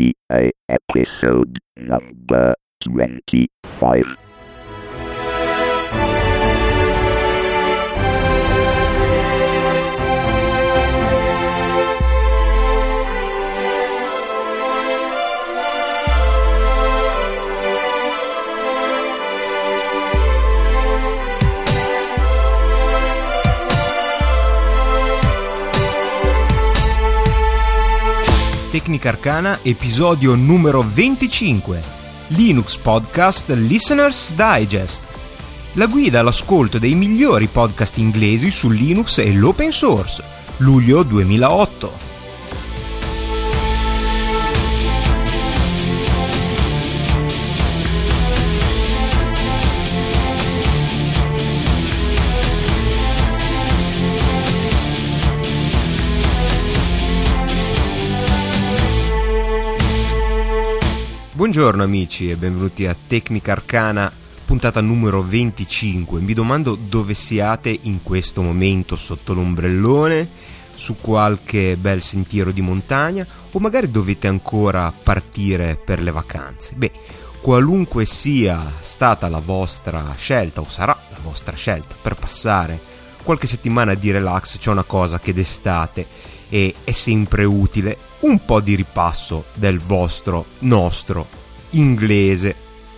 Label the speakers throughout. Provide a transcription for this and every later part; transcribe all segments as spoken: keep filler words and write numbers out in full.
Speaker 1: T A episode number twenty-five.
Speaker 2: Tecnica Arcana, episodio numero venticinque, Linux Podcast Listener's Digest, la guida all'ascolto dei migliori podcast inglesi su Linux e l'open source, luglio duemilaotto. Buongiorno amici e benvenuti a Tecnica Arcana, puntata numero venticinque. Mi domando dove siate in questo momento, sotto l'ombrellone, su qualche bel sentiero di montagna o magari dovete ancora partire per le vacanze. Beh, qualunque sia stata la vostra scelta o sarà la vostra scelta per passare qualche settimana di relax, c'è una cosa che d'estate e è sempre utile: un po' di ripasso del vostro, nostro inglese.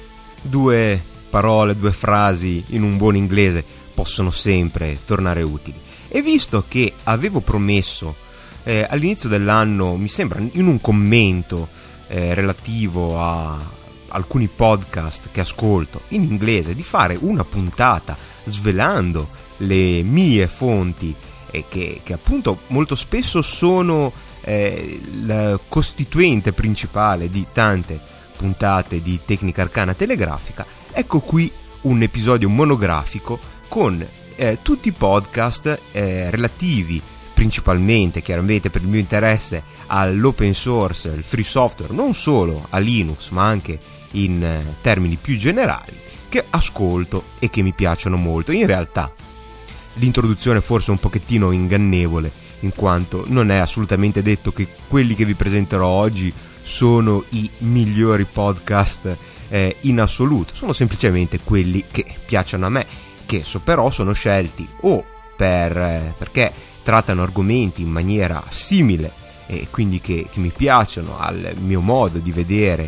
Speaker 2: Due parole, due frasi in un buon inglese possono sempre tornare utili. E visto che avevo promesso eh, all'inizio dell'anno, mi sembra in un commento eh, relativo a alcuni podcast che ascolto in inglese, di fare una puntata svelando le mie fonti e che, che appunto molto spesso sono eh, il costituente principale di tante puntate di Tecnica Arcana telegrafica, ecco qui un episodio monografico con eh, tutti i podcast eh, relativi principalmente, chiaramente per il mio interesse, all'open source, il free software, non solo a Linux ma anche in eh, termini più generali, che ascolto e che mi piacciono molto. In realtà l'introduzione forse è un pochettino ingannevole, in quanto non è assolutamente detto che quelli che vi presenterò oggi sono i migliori podcast eh, in assoluto. Sono semplicemente quelli che piacciono a me, che so però sono scelti o per eh, perché trattano argomenti in maniera simile e quindi che, che mi piacciono al mio modo di vedere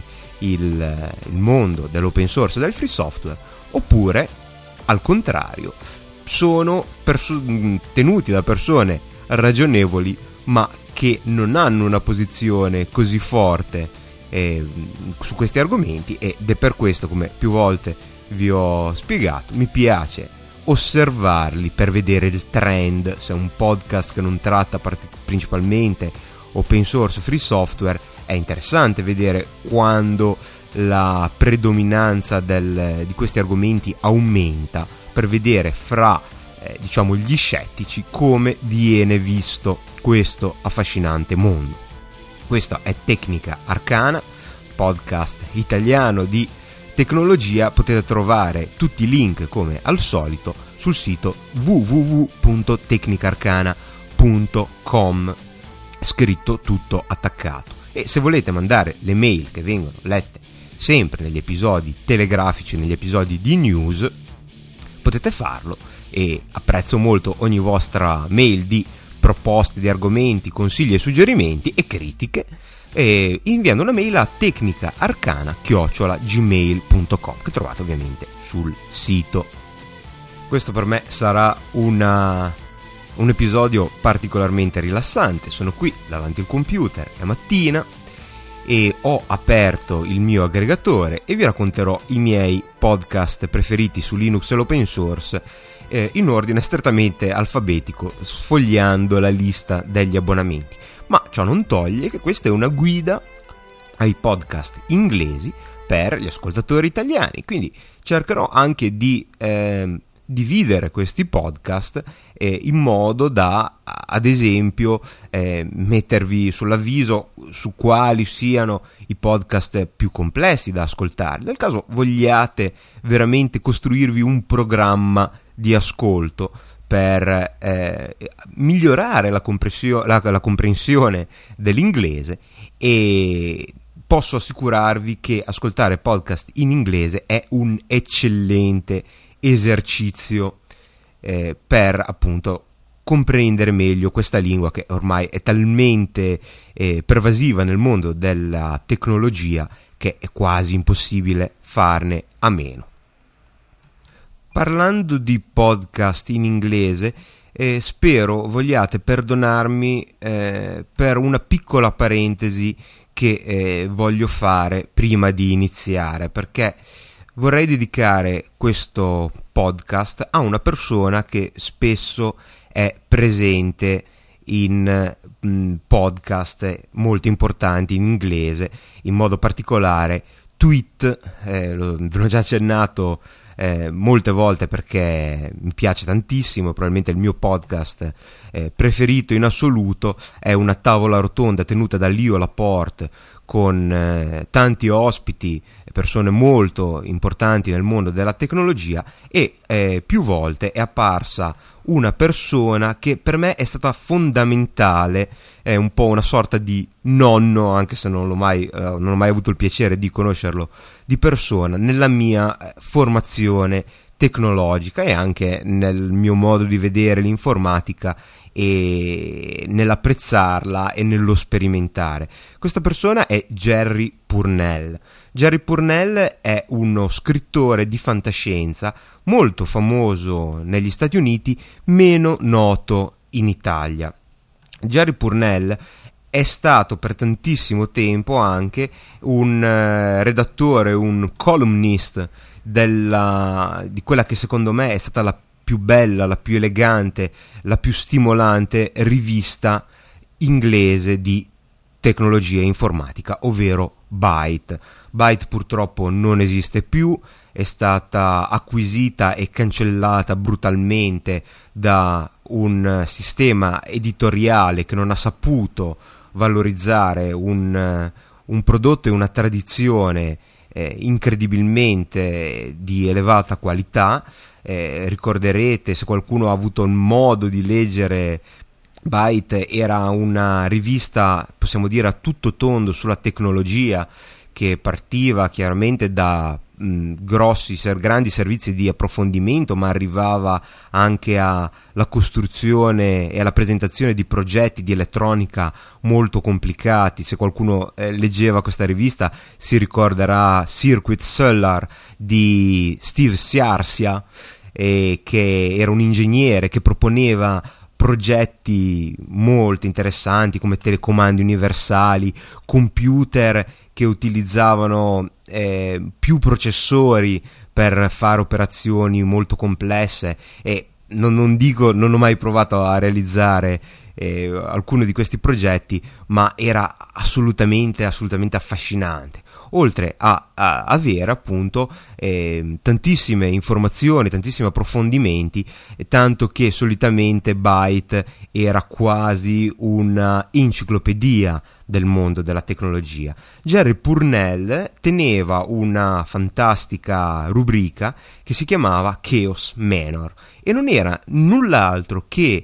Speaker 2: il, il mondo dell'open source e del free software, oppure al contrario sono perso- tenuti da persone ragionevoli ma che non hanno una posizione così forte eh, su questi argomenti, ed è per questo, come più volte vi ho spiegato, mi piace osservarli per vedere il trend. Se un podcast che non tratta part- principalmente open source free software, è interessante vedere quando la predominanza del, di questi argomenti aumenta, per vedere fra eh, diciamo gli scettici come viene visto questo affascinante mondo. Questa è Tecnica Arcana, podcast italiano di tecnologia. Potete trovare tutti i link come al solito sul sito w w w punto tecnica arcana punto com, scritto tutto attaccato. E se volete mandare le mail che vengono lette sempre negli episodi telegrafici, negli episodi di news, potete farlo, e apprezzo molto ogni vostra mail di proposte di argomenti, consigli e suggerimenti e critiche, e inviando una mail a tecnicaarcana chiocciola gmail punto com, che trovate ovviamente sul sito. Questo per me sarà una, un episodio particolarmente rilassante. Sono qui davanti al computer, è mattina, e ho aperto il mio aggregatore e vi racconterò i miei podcast preferiti su Linux e l'open source eh, in ordine strettamente alfabetico, sfogliando la lista degli abbonamenti. Ma ciò non toglie che questa è una guida ai podcast inglesi per gli ascoltatori italiani, quindi cercherò anche di eh, dividere questi podcast eh, in modo da, ad esempio, eh, mettervi sull'avviso su quali siano i podcast più complessi da ascoltare, nel caso vogliate veramente costruirvi un programma di ascolto per eh, migliorare la, comprensio- la, la comprensione dell'inglese e posso assicurarvi che ascoltare podcast in inglese è un eccellente esercizio eh, per appunto comprendere meglio questa lingua che ormai è talmente eh, pervasiva nel mondo della tecnologia che è quasi impossibile farne a meno. Parlando di podcast in inglese, eh, spero vogliate perdonarmi eh, per una piccola parentesi che eh, voglio fare prima di iniziare, perché vorrei dedicare questo podcast a una persona che spesso è presente in mh, podcast molto importanti in inglese, in modo particolare Tweet, eh, lo, ve l'ho già accennato eh, molte volte perché mi piace tantissimo, probabilmente il mio podcast eh, preferito in assoluto, è una tavola rotonda tenuta da Leo Laporte con eh, tanti ospiti, persone molto importanti nel mondo della tecnologia, e eh, più volte è apparsa una persona che per me è stata fondamentale, è un po' una sorta di nonno, anche se non l'ho mai, eh, non ho mai avuto il piacere di conoscerlo di persona, nella mia eh, formazione tecnologica e anche nel mio modo di vedere l'informatica e nell'apprezzarla e nello sperimentare. Questa persona è Jerry Pournelle. Jerry Pournelle è uno scrittore di fantascienza molto famoso negli Stati Uniti, meno noto in Italia. Jerry Pournelle è stato per tantissimo tempo anche un uh, redattore, un columnist della, di quella che secondo me è stata la più bella, la più elegante, la più stimolante rivista inglese di tecnologia informatica, ovvero Byte. Byte purtroppo non esiste più, è stata acquisita e cancellata brutalmente da un sistema editoriale che non ha saputo valorizzare un, un prodotto e una tradizione eh, incredibilmente di elevata qualità. Eh, ricorderete, se qualcuno ha avuto il modo di leggere Byte, era una rivista, possiamo dire, a tutto tondo sulla tecnologia, che partiva chiaramente da mh, grossi, ser- grandi servizi di approfondimento, ma arrivava anche alla costruzione e alla presentazione di progetti di elettronica molto complicati. Se qualcuno eh, leggeva questa rivista si ricorderà Circuit Solar di Steve Sciarcia, eh, che era un ingegnere che proponeva progetti molto interessanti come telecomandi universali, computer che utilizzavano eh, più processori per fare operazioni molto complesse, e non, non dico, non ho mai provato a realizzare eh, alcuno di questi progetti, ma era assolutamente assolutamente affascinante, oltre a, a avere appunto eh, tantissime informazioni, tantissimi approfondimenti, eh, tanto che solitamente Byte era quasi una enciclopedia del mondo della tecnologia. Jerry Pournelle teneva una fantastica rubrica che si chiamava Chaos Manor e non era null'altro che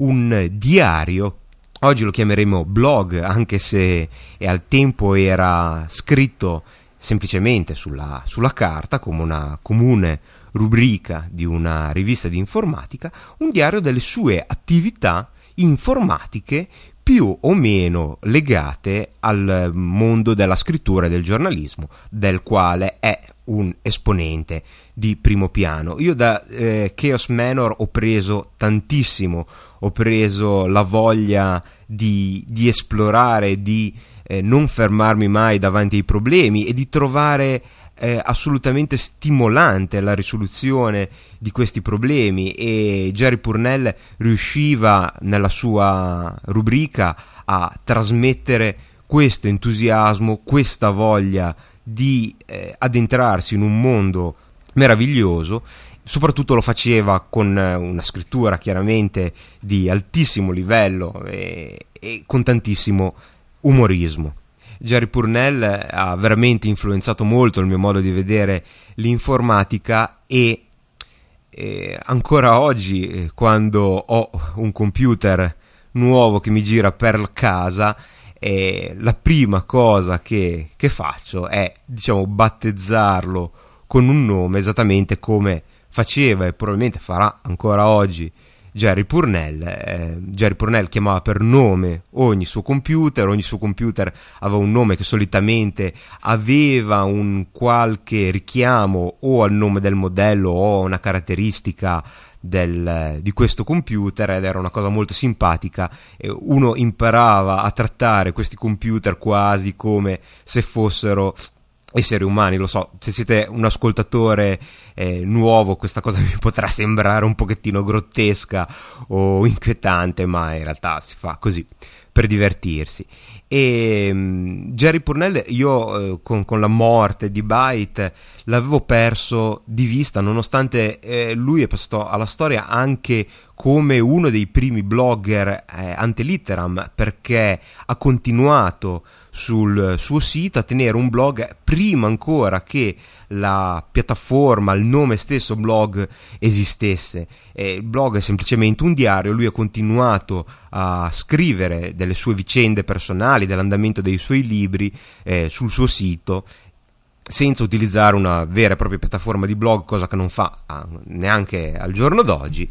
Speaker 2: un diario. Oggi lo chiameremo blog, anche se al tempo era scritto semplicemente sulla, sulla carta, come una comune rubrica di una rivista di informatica, un diario delle sue attività informatiche più o meno legate al mondo della scrittura e del giornalismo, del quale è un esponente di primo piano. Io da eh, Chaos Manor ho preso tantissimo, ho preso la voglia di, di esplorare, di eh, non fermarmi mai davanti ai problemi e di trovare eh, assolutamente stimolante la risoluzione di questi problemi, e Jerry Pournelle riusciva nella sua rubrica a trasmettere questo entusiasmo, questa voglia di eh, addentrarsi in un mondo meraviglioso. Soprattutto lo faceva con una scrittura chiaramente di altissimo livello e, e con tantissimo umorismo. Jerry Pournelle ha veramente influenzato molto il mio modo di vedere l'informatica, e, e ancora oggi, eh, quando ho un computer nuovo che mi gira per casa, e la prima cosa che, che faccio è, diciamo, battezzarlo con un nome esattamente come faceva e probabilmente farà ancora oggi Jerry Pournelle. eh, Jerry Pournelle chiamava per nome ogni suo computer, ogni suo computer aveva un nome che solitamente aveva un qualche richiamo o al nome del modello o a una caratteristica del, di questo computer, ed era una cosa molto simpatica. Uno imparava a trattare questi computer quasi come se fossero esseri umani. Lo so, se siete un ascoltatore eh, nuovo, questa cosa vi potrà sembrare un pochettino grottesca o inquietante, ma in realtà si fa così per divertirsi. E um, Jerry Pournelle io eh, con, con la morte di Byte l'avevo perso di vista, nonostante eh, lui è passato alla storia anche come uno dei primi blogger eh, ante litteram, perché ha continuato sul suo sito a tenere un blog prima ancora che la piattaforma, il nome stesso blog esistesse. E il blog è semplicemente un diario. Lui ha continuato a scrivere delle sue vicende personali, dell'andamento dei suoi libri eh, sul suo sito, senza utilizzare una vera e propria piattaforma di blog, cosa che non fa ah, neanche al giorno d'oggi.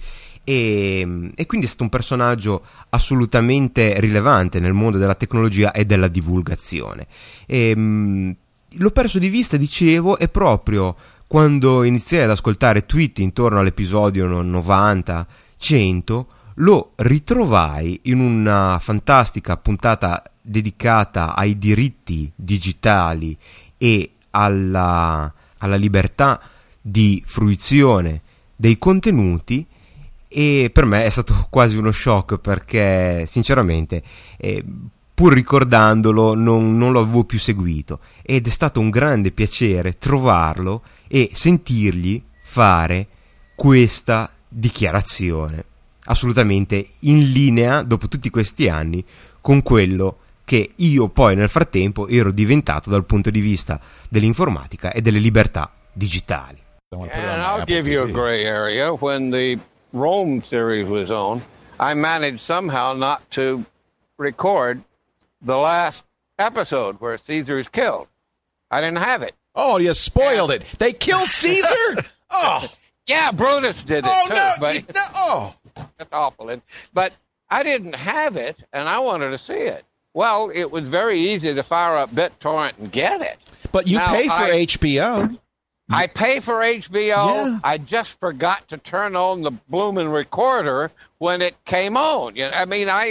Speaker 2: E, e quindi è stato un personaggio assolutamente rilevante nel mondo della tecnologia e della divulgazione. E, mh, l'ho perso di vista, dicevo, e proprio quando iniziai ad ascoltare tweet intorno all'episodio novanta cento lo ritrovai in una fantastica puntata dedicata ai diritti digitali e alla, alla libertà di fruizione dei contenuti. E per me è stato quasi uno shock, perché sinceramente eh, pur ricordandolo non, non lo avevo più seguito, ed è stato un grande piacere trovarlo e sentirgli fare questa dichiarazione assolutamente in linea, dopo tutti questi anni, con quello che io poi nel frattempo ero diventato dal punto di vista dell'informatica e delle libertà digitali.
Speaker 3: And I'll give you a gray area. When the Rome series was on, I managed somehow not to record the last episode where Caesar is killed. I didn't have it.
Speaker 4: Oh, you spoiled and, it. They killed Caesar? Oh.
Speaker 3: Yeah, Brutus did it
Speaker 4: oh,
Speaker 3: too.
Speaker 4: No,
Speaker 3: but
Speaker 4: you, no, oh,
Speaker 3: that's awful. And, but I didn't have it, and I wanted to see it. Well, it was very easy to fire up BitTorrent and get it.
Speaker 4: But you
Speaker 3: now,
Speaker 4: pay for
Speaker 3: I,
Speaker 4: H B O.
Speaker 3: I pay for H B O.
Speaker 4: Yeah.
Speaker 3: I just forgot to turn on the blooming recorder when it came on. You know, I mean, I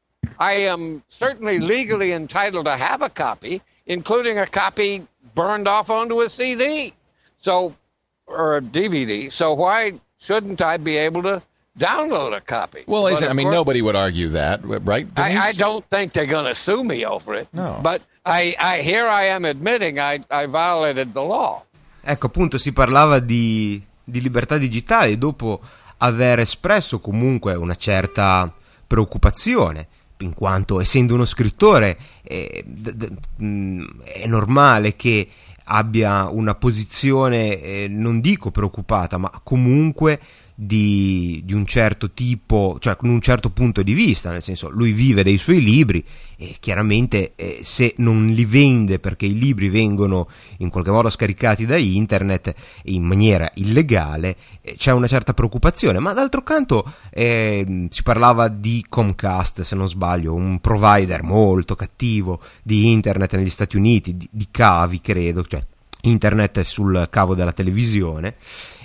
Speaker 3: I am certainly legally entitled to have a copy, including a copy burned off onto a C D, so or a D V D. So why shouldn't I be able to download a copy?
Speaker 4: Well,
Speaker 3: but
Speaker 4: I mean,
Speaker 3: course,
Speaker 4: nobody would argue that, right?
Speaker 3: I, I don't think they're going to sue me over it.
Speaker 4: No.
Speaker 3: But I, I here I am admitting I, I violated the law.
Speaker 2: Ecco, appunto, si parlava di, di libertà digitali dopo aver espresso comunque una certa preoccupazione, in quanto, essendo uno scrittore, eh, d- d- mh, è normale che abbia una posizione, eh, non dico preoccupata, ma comunque di, di un certo tipo, cioè con un certo punto di vista, nel senso, lui vive dei suoi libri e chiaramente eh, se non li vende perché i libri vengono in qualche modo scaricati da internet in maniera illegale, eh, c'è una certa preoccupazione. Ma d'altro canto eh, si parlava di Comcast, se non sbaglio, un provider molto cattivo di internet negli Stati Uniti, di, di cavi credo, cioè internet sul cavo della televisione,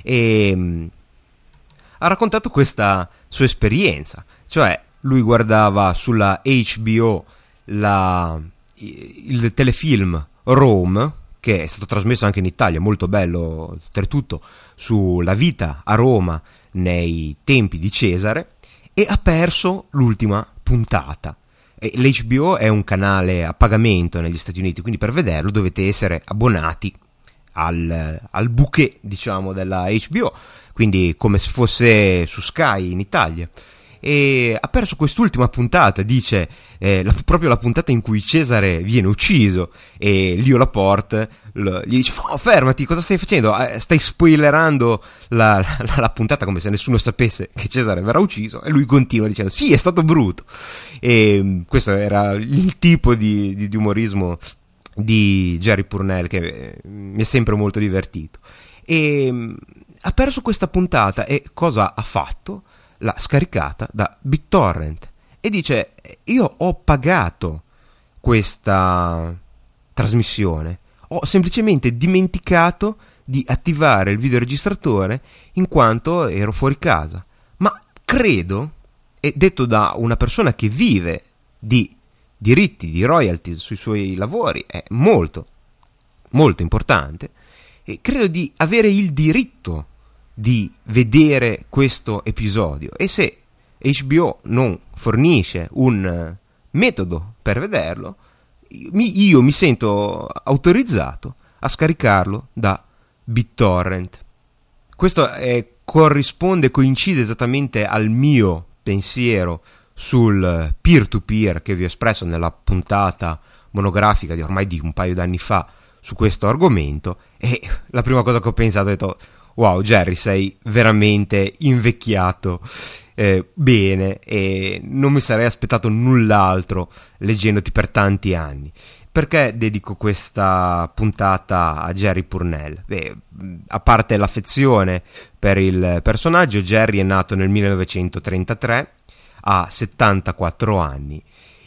Speaker 2: e ha raccontato questa sua esperienza, cioè lui guardava sulla H B O la, il telefilm Rome, che è stato trasmesso anche in Italia, molto bello oltretutto, sulla vita a Roma nei tempi di Cesare, e ha perso l'ultima puntata. E l'H B O è un canale a pagamento negli Stati Uniti, quindi per vederlo dovete essere abbonati al, al bouquet, diciamo, della H B O, quindi come se fosse su Sky in Italia. e ha perso quest'ultima puntata, dice eh, la, proprio la puntata in cui Cesare viene ucciso, e Leo Laporte lo, gli dice oh, fermati, cosa stai facendo? Eh, stai spoilerando la, la, la puntata come se nessuno sapesse che Cesare verrà ucciso, e lui continua dicendo sì, è stato brutto. E questo era il tipo di, di, di umorismo di Jerry Pournelle che eh, mi è sempre molto divertito. E mh, ha perso questa puntata, e cosa ha fatto? L'ha scaricata da BitTorrent e dice io ho pagato questa trasmissione, ho semplicemente dimenticato di attivare il videoregistratore in quanto ero fuori casa, ma credo, e detto da una persona che vive di diritti, di royalties sui suoi lavori, è molto molto importante, e credo di avere il diritto di vedere questo episodio, e se H B O non fornisce un metodo per vederlo, mi, io mi sento autorizzato a scaricarlo da BitTorrent. Questo è, corrisponde, coincide esattamente al mio pensiero sul peer-to-peer che vi ho espresso nella puntata monografica di ormai di un paio d'anni fa su questo argomento, e la prima cosa che ho pensato è detto wow Jerry, sei veramente invecchiato eh, bene, e non mi sarei aspettato null'altro leggendoti per tanti anni. Perché dedico questa puntata a Jerry Pournelle? Beh, a parte l'affezione per il personaggio, Jerry è nato nel millenovecentotrentatré, ha settantaquattro anni,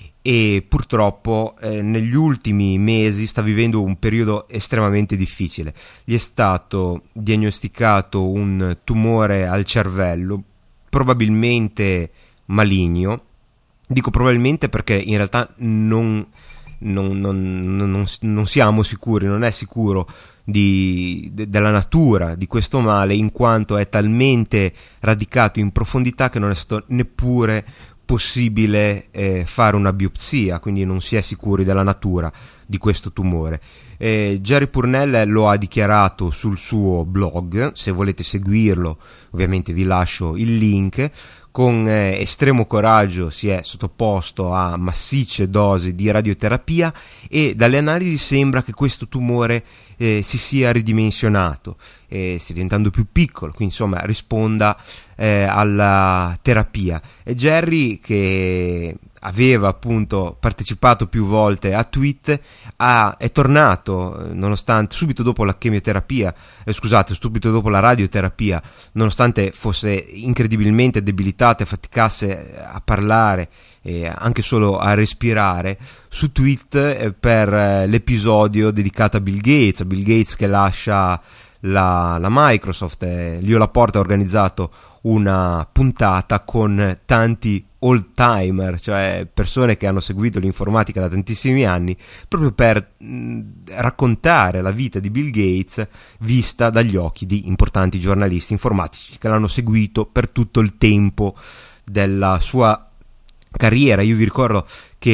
Speaker 2: e purtroppo eh, negli ultimi mesi sta vivendo un periodo estremamente difficile. Gli è stato diagnosticato un tumore al cervello, probabilmente maligno. Dico probabilmente perché in realtà non, non, non, non, non siamo sicuri, non è sicuro di, de, della natura di questo male, in quanto è talmente radicato in profondità che non è stato neppure possibile eh, fare una biopsia, quindi non si è sicuri della natura di questo tumore. eh, Jerry Pournelle lo ha dichiarato sul suo blog, se volete seguirlo ovviamente vi lascio il link. Con eh, estremo coraggio si è sottoposto a massicce dosi di radioterapia, e dalle analisi sembra che questo tumore eh, si sia ridimensionato, eh, stia diventando più piccolo, quindi insomma risponda eh, alla terapia. E Jerry, che aveva appunto partecipato più volte a tweet, ha, è tornato nonostante subito dopo la chemioterapia, eh, scusate, subito dopo la radioterapia, nonostante fosse incredibilmente debilitato e faticasse a parlare e anche solo a respirare, su tweet eh, per eh, l'episodio dedicato a Bill Gates, a Bill Gates che lascia la, la Microsoft. eh, Leo Laporte ha organizzato una puntata con tanti old timer, cioè persone che hanno seguito l'informatica da tantissimi anni, proprio per mh, raccontare la vita di Bill Gates vista dagli occhi di importanti giornalisti informatici che l'hanno seguito per tutto il tempo della sua carriera. Io vi ricordo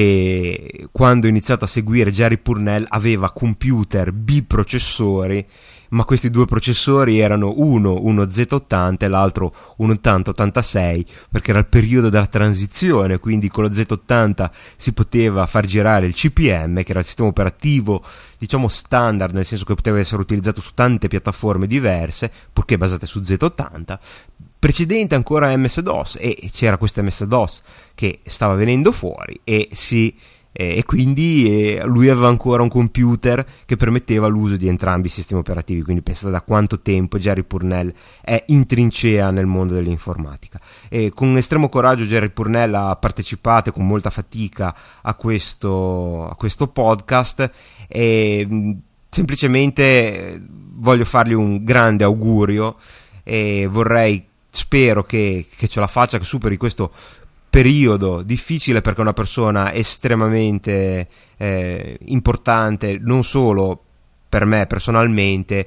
Speaker 2: che quando ho iniziato a seguire Jerry Pournelle aveva computer biprocessori, ma questi due processori erano uno uno Z ottanta e l'altro un ottanta ottantasei, perché era il periodo della transizione, quindi con lo Z ottanta si poteva far girare il C P M, che era il sistema operativo diciamo standard, nel senso che poteva essere utilizzato su tante piattaforme diverse purché basate su Z ottanta, precedente ancora a M S DOS, e c'era questo M S DOS che stava venendo fuori, e si e quindi eh, lui aveva ancora un computer che permetteva l'uso di entrambi i sistemi operativi. Quindi pensate da quanto tempo Jerry Pournelle è in trincea nel mondo dell'informatica. E con estremo coraggio Jerry Pournelle ha partecipato con molta fatica a questo, a questo podcast, e mh, semplicemente voglio fargli un grande augurio, e vorrei, spero che, che ce la faccia, che superi questo periodo difficile, perché è una persona estremamente eh, importante non solo per me personalmente,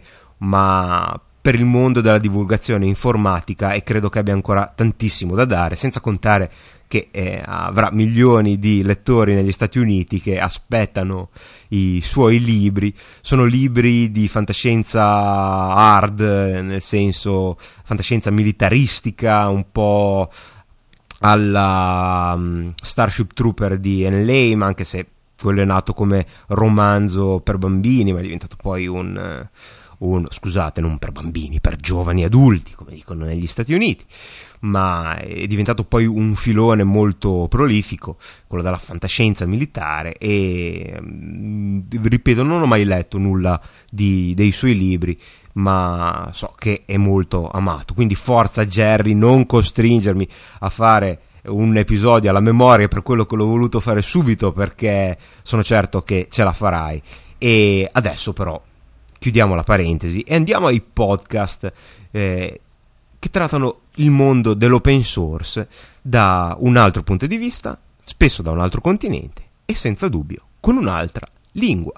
Speaker 2: ma per il mondo della divulgazione informatica, e credo che abbia ancora tantissimo da dare, senza contare che eh, avrà milioni di lettori negli Stati Uniti che aspettano i suoi libri. Sono libri di fantascienza hard, nel senso fantascienza militaristica, un po' alla um, Starship Trooper di Ian Lame, anche se quello è nato come romanzo per bambini, ma è diventato poi un, un scusate, non per bambini, per giovani adulti, come dicono negli Stati Uniti, ma è diventato poi un filone molto prolifico, quello della fantascienza militare, e ripeto, non ho mai letto nulla di, dei suoi libri, ma so che è molto amato, quindi forza Jerry, non costringermi a fare un episodio alla memoria, per quello che l'ho voluto fare subito, perché sono certo che ce la farai. E adesso però chiudiamo la parentesi e andiamo ai podcast eh, che trattano il mondo dell'open source da un altro punto di vista, spesso da un altro continente e senza dubbio con un'altra lingua.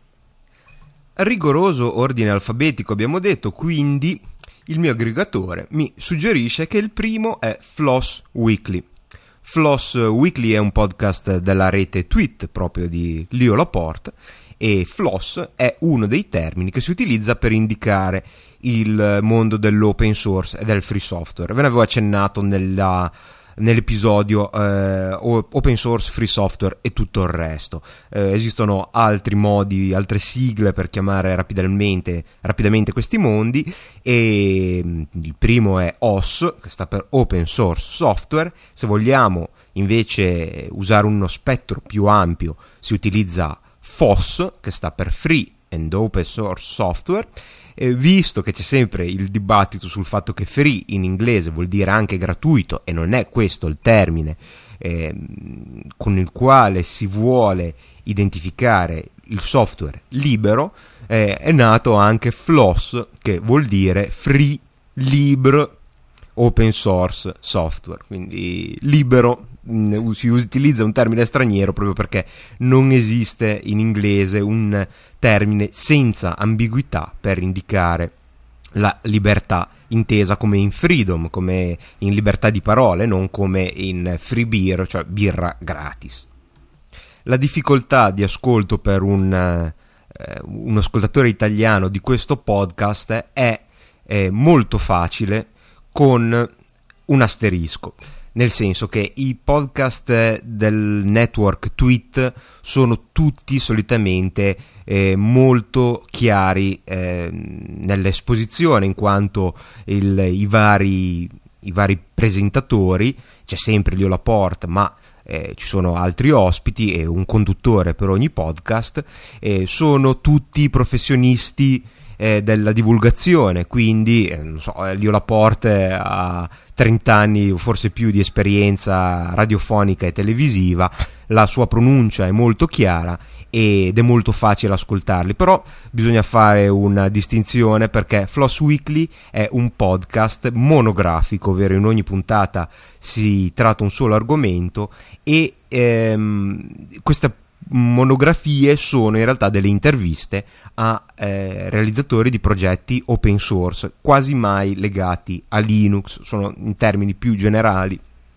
Speaker 2: Rigoroso ordine alfabetico abbiamo detto, quindi il mio aggregatore mi suggerisce che il primo è Floss Weekly. Floss Weekly è un podcast della rete Tweet proprio di Leo Laporte, e floss è uno dei termini che si utilizza per indicare il mondo dell'open source e del free software. Ve ne avevo accennato nella, nell'episodio eh, open source, free software e tutto il resto. Eh, esistono altri modi, altre sigle per chiamare rapidamente, rapidamente questi mondi, e il primo è O S, che sta per Open Source Software. Se vogliamo invece usare uno spettro più ampio si utilizza F O S, che sta per Free and Open Source Software. Eh, visto che c'è sempre il dibattito sul fatto che free in inglese vuol dire anche gratuito, e non è questo il termine eh, con il quale si vuole identificare il software libero, eh, è nato anche Floss, che vuol dire Free Libre Open Source Software, quindi libero. Mh, si utilizza un termine straniero proprio perché non esiste in inglese un termine senza ambiguità per indicare la libertà intesa come in freedom, come in libertà di parole, non come in free beer, cioè birra gratis. La difficoltà di ascolto per un, eh, un ascoltatore italiano di questo podcast è, è molto facile, con un asterisco, nel senso che i podcast del network Tweet sono tutti solitamente eh, molto chiari eh, nell'esposizione, in quanto il, i, vari, i vari presentatori, c'è sempre Leo Laporte, ma eh, ci sono altri ospiti e un conduttore per ogni podcast, eh, sono tutti professionisti eh, della divulgazione, quindi eh, non so, Leo Laporte ha trenta anni o forse più di esperienza radiofonica e televisiva, la sua pronuncia è molto chiara ed è molto facile ascoltarli, però bisogna fare una distinzione, perché Floss Weekly è un podcast monografico, ovvero in ogni puntata si tratta un solo argomento, e ehm, queste monografie sono in realtà delle interviste a eh, realizzatori di progetti open source, quasi mai legati a Linux, sono in termini più generali.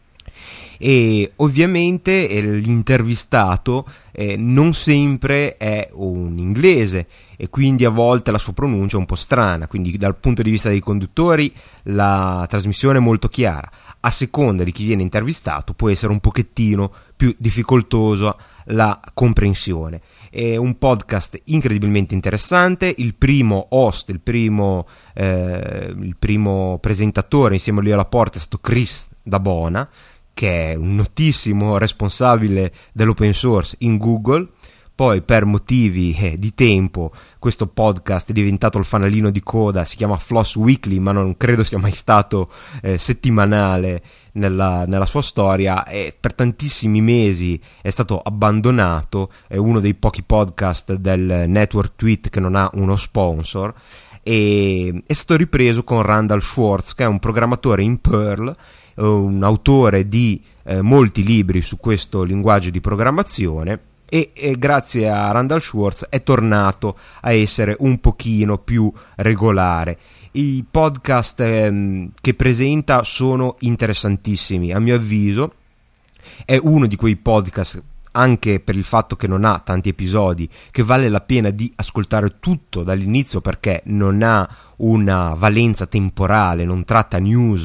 Speaker 2: E ovviamente eh, l'intervistato eh, non sempre è un inglese, e quindi a volte la sua pronuncia è un po' strana, quindi dal punto di vista dei conduttori la trasmissione è molto chiara. A seconda di chi viene intervistato può essere un pochettino più difficoltosa la comprensione. È un podcast incredibilmente interessante. Il primo host, il primo, eh, il primo presentatore insieme a lui alla porta è stato Chris Dabona, che è un notissimo responsabile dell'open source in Google. Poi per motivi eh, di tempo questo podcast è diventato il fanalino di coda, si chiama Floss Weekly, ma non credo sia mai stato eh, settimanale nella, nella sua storia, e per tantissimi mesi è stato abbandonato. È uno dei pochi podcast del network Tweet che non ha uno sponsor, e è stato ripreso con Randall Schwartz, che è un programmatore in Perl, un autore di eh, molti libri su questo linguaggio di programmazione, e, e grazie a Randall Schwartz è tornato a essere un pochino più regolare. I podcast ehm, che presenta sono interessantissimi, a mio avviso. È uno di quei podcast, anche per il fatto che non ha tanti episodi, che vale la pena di ascoltare tutto dall'inizio, perché non ha una valenza temporale, non tratta news,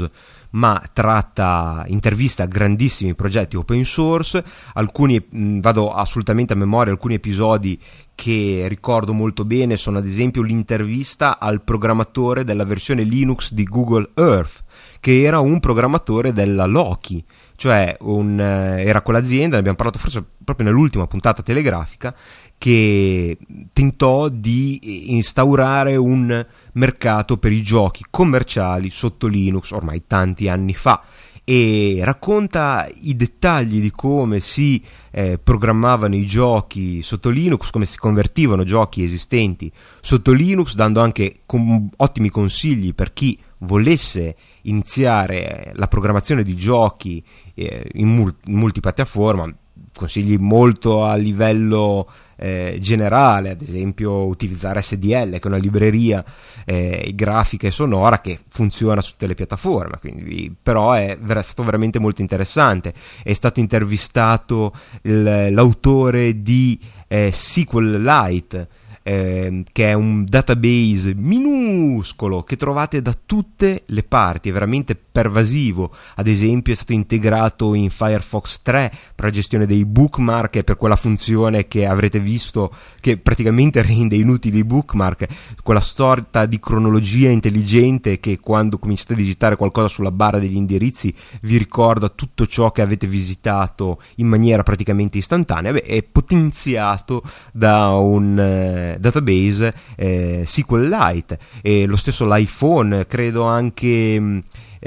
Speaker 2: ma tratta, intervista grandissimi progetti open source. Alcuni, mh, vado assolutamente a memoria, alcuni episodi che ricordo molto bene sono ad esempio l'intervista al programmatore della versione Linux di Google Earth, che era un programmatore della Loki, cioè un, eh, era quell'azienda, ne abbiamo parlato forse proprio nell'ultima puntata telegrafica, che tentò di instaurare un mercato per i giochi commerciali sotto Linux ormai tanti anni fa, e racconta i dettagli di come si eh, programmavano i giochi sotto Linux, come si convertivano giochi esistenti sotto Linux, dando anche com- ottimi consigli per chi volesse iniziare la programmazione di giochi eh, in, mul- in multipiattaforma, consigli molto a livello eh, generale, ad esempio utilizzare S D L, che è una libreria eh, grafica e sonora che funziona su tutte le piattaforme, quindi però è, è stato veramente molto interessante. È stato intervistato il, l'autore di eh, SQLite, Eh, che è un database minuscolo che trovate da tutte le parti, è veramente pervasivo. Ad esempio è stato integrato in Firefox tre per la gestione dei bookmark e per quella funzione che avrete visto che praticamente rende inutili i bookmark, quella sorta di cronologia intelligente che quando cominciate a digitare qualcosa sulla barra degli indirizzi vi ricorda tutto ciò che avete visitato in maniera praticamente istantanea. Beh, è potenziato da un eh, database eh, SQLite, e lo stesso l'iPhone, credo anche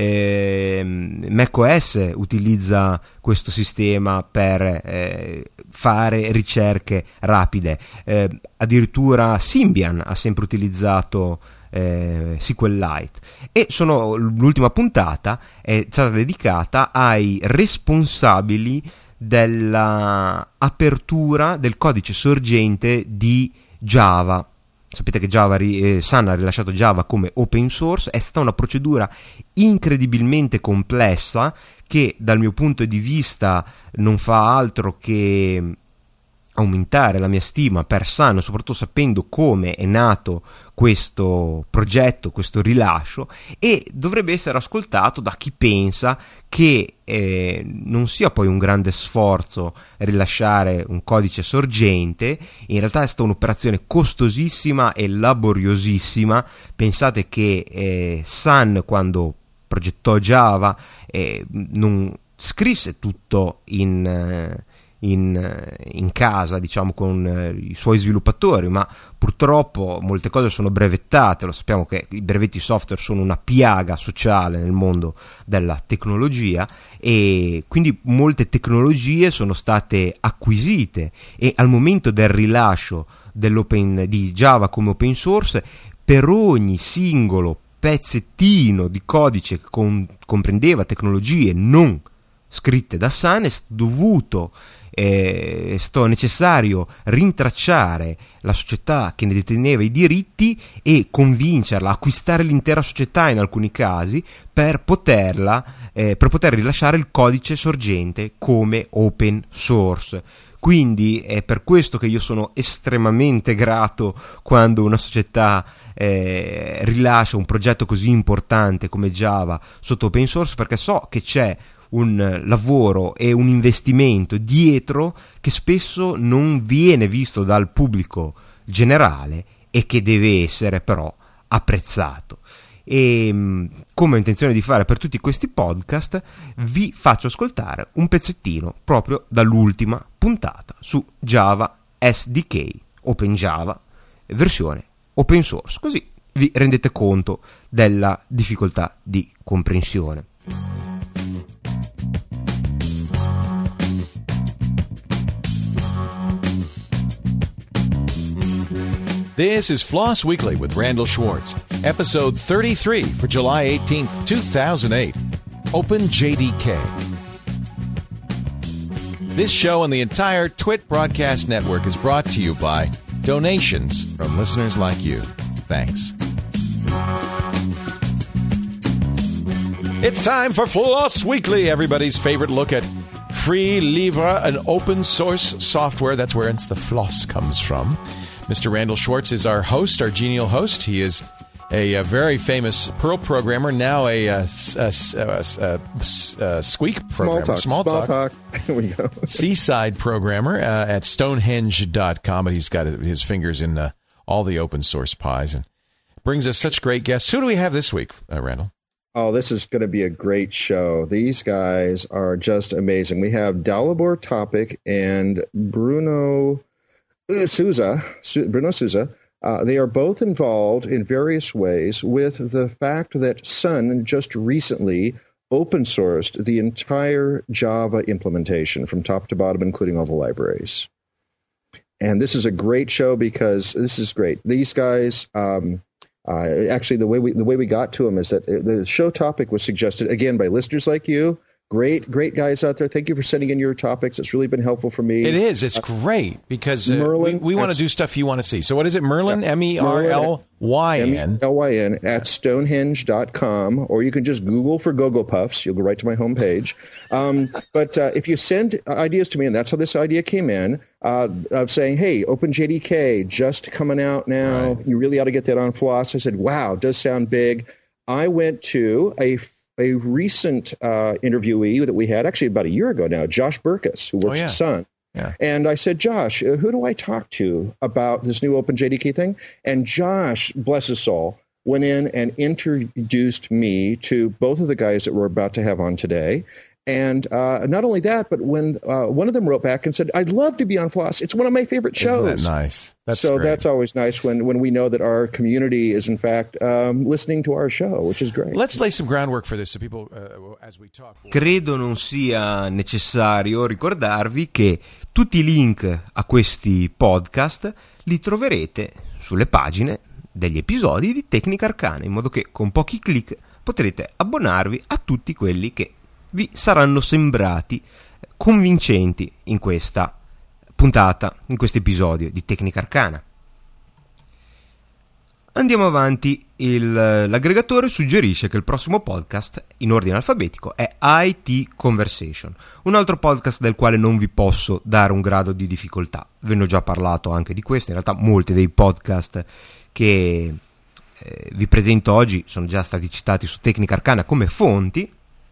Speaker 2: eh, macOS utilizza questo sistema per eh, fare ricerche rapide, eh, addirittura Symbian ha sempre utilizzato eh, SQLite. E sono, l'ultima puntata è stata dedicata ai responsabili della apertura del codice sorgente di Java. Sapete che Java, eh, Sun ha rilasciato Java come open source. È stata una procedura incredibilmente complessa che dal mio punto di vista non fa altro che aumentare la mia stima per Sun, soprattutto sapendo come è nato questo progetto, questo rilascio, e dovrebbe essere ascoltato da chi pensa che eh, non sia poi un grande sforzo rilasciare un codice sorgente. In realtà è stata un'operazione costosissima e laboriosissima. Pensate che eh, Sun, quando progettò Java, eh, non scrisse tutto in... Eh, In, in casa, diciamo, con eh, i suoi sviluppatori, ma purtroppo molte cose sono brevettate. Lo sappiamo che i brevetti software sono una piaga sociale nel mondo della tecnologia, e quindi molte tecnologie sono state acquisite, e al momento del rilascio dell'open, di Java come open source, per ogni singolo pezzettino di codice che con, comprendeva tecnologie non scritte da Sun, è dovuto è stato necessario rintracciare la società che ne deteneva i diritti e convincerla a acquistare l'intera società in alcuni casi per poterla eh, per poter rilasciare il codice sorgente come open source. Quindi è per questo che io sono estremamente grato quando una società eh, rilascia un progetto così importante come Java sotto open source, perché so che c'è un lavoro e un investimento dietro che spesso non viene visto dal pubblico generale e che deve essere però apprezzato. E come ho intenzione di fare per tutti questi podcast, vi faccio ascoltare un pezzettino proprio dall'ultima puntata su Java S D K, OpenJava, versione open source, così vi rendete conto della difficoltà di comprensione.
Speaker 4: This is Floss Weekly with Randall Schwartz, episode thirty-three for July eighteenth, two thousand eight. Open J D K. This show and the entire Twit Broadcast Network is brought to you by donations from listeners like you. Thanks. It's time for Floss Weekly, everybody's favorite look at free, libre, and open source software. That's where it's the floss comes from. Mister Randall Schwartz is our host, our genial host. He is a, a very famous Perl programmer, now a, a, a, a, a, a Squeak programmer.
Speaker 5: Small talk. Small talk. Here we go.
Speaker 4: Seaside programmer uh, at stonehenge dot com, but he's got his fingers in uh, all the open source pies and brings us such great guests. Who do we have this week, uh, Randall?
Speaker 5: Oh, this is going to be a great show. These guys are just amazing. We have Dalibor Topic and Bruno Souza. Bruno Souza. Uh, they are both involved in various ways with the fact that Sun just recently open sourced the entire Java implementation from top to bottom, including all the libraries. And this is a great show because this is great. These guys... Um, Uh, actually, the way we the way we got to them is that the show topic was suggested again by listeners like you. Great, great guys out there. Thank you for sending in your topics. It's really been helpful for me.
Speaker 4: It is. It's uh, great because uh, Merlin, we, we want to do stuff you want to see. So what is it? Merlin, yeah. M E R L Y N.
Speaker 5: M E R L Y N at stonehenge dot com, or you can just Google for Go-Go Puffs. You'll go right to my homepage. Um, but uh, if you send ideas to me, and that's how this idea came in, uh, of saying, hey, OpenJDK just coming out now. Right. You really ought to get that on Floss. I said, wow, it does sound big. I went to a a recent uh, interviewee that we had, actually about a year ago now, Josh Burkus, who works
Speaker 4: oh, yeah.
Speaker 5: at Sun.
Speaker 4: Yeah.
Speaker 5: And I said, Josh, uh, who do I talk to about this new OpenJDK thing? And Josh, bless his soul, went in and introduced me to both of the guys that we're about to have on today. And uh, not only that, but when uh, one of them wrote back and said, I'd love to be on Floss. It's one of my favorite shows.
Speaker 4: Isn't that nice? That's
Speaker 5: so
Speaker 4: great.
Speaker 5: That's always nice when, when we know that our community is, in fact, um, listening to our show, which is great.
Speaker 4: Let's lay some groundwork for this so people, uh, as we talk.
Speaker 2: Credo non sia necessario ricordarvi che tutti i link a questi podcast li troverete sulle pagine degli episodi di Tecnica Arcana, in modo che con pochi click potrete abbonarvi a tutti quelli che vi saranno sembrati convincenti in questa puntata, in questo episodio di Tecnica Arcana. Andiamo avanti. Il, l'aggregatore suggerisce che il prossimo podcast in ordine alfabetico è I T Conversation, un altro podcast del quale non vi posso dare un grado di difficoltà. Ve ne ho già parlato anche di questo. In realtà molti dei podcast che eh, vi presento oggi sono già stati citati su Tecnica Arcana come fonti.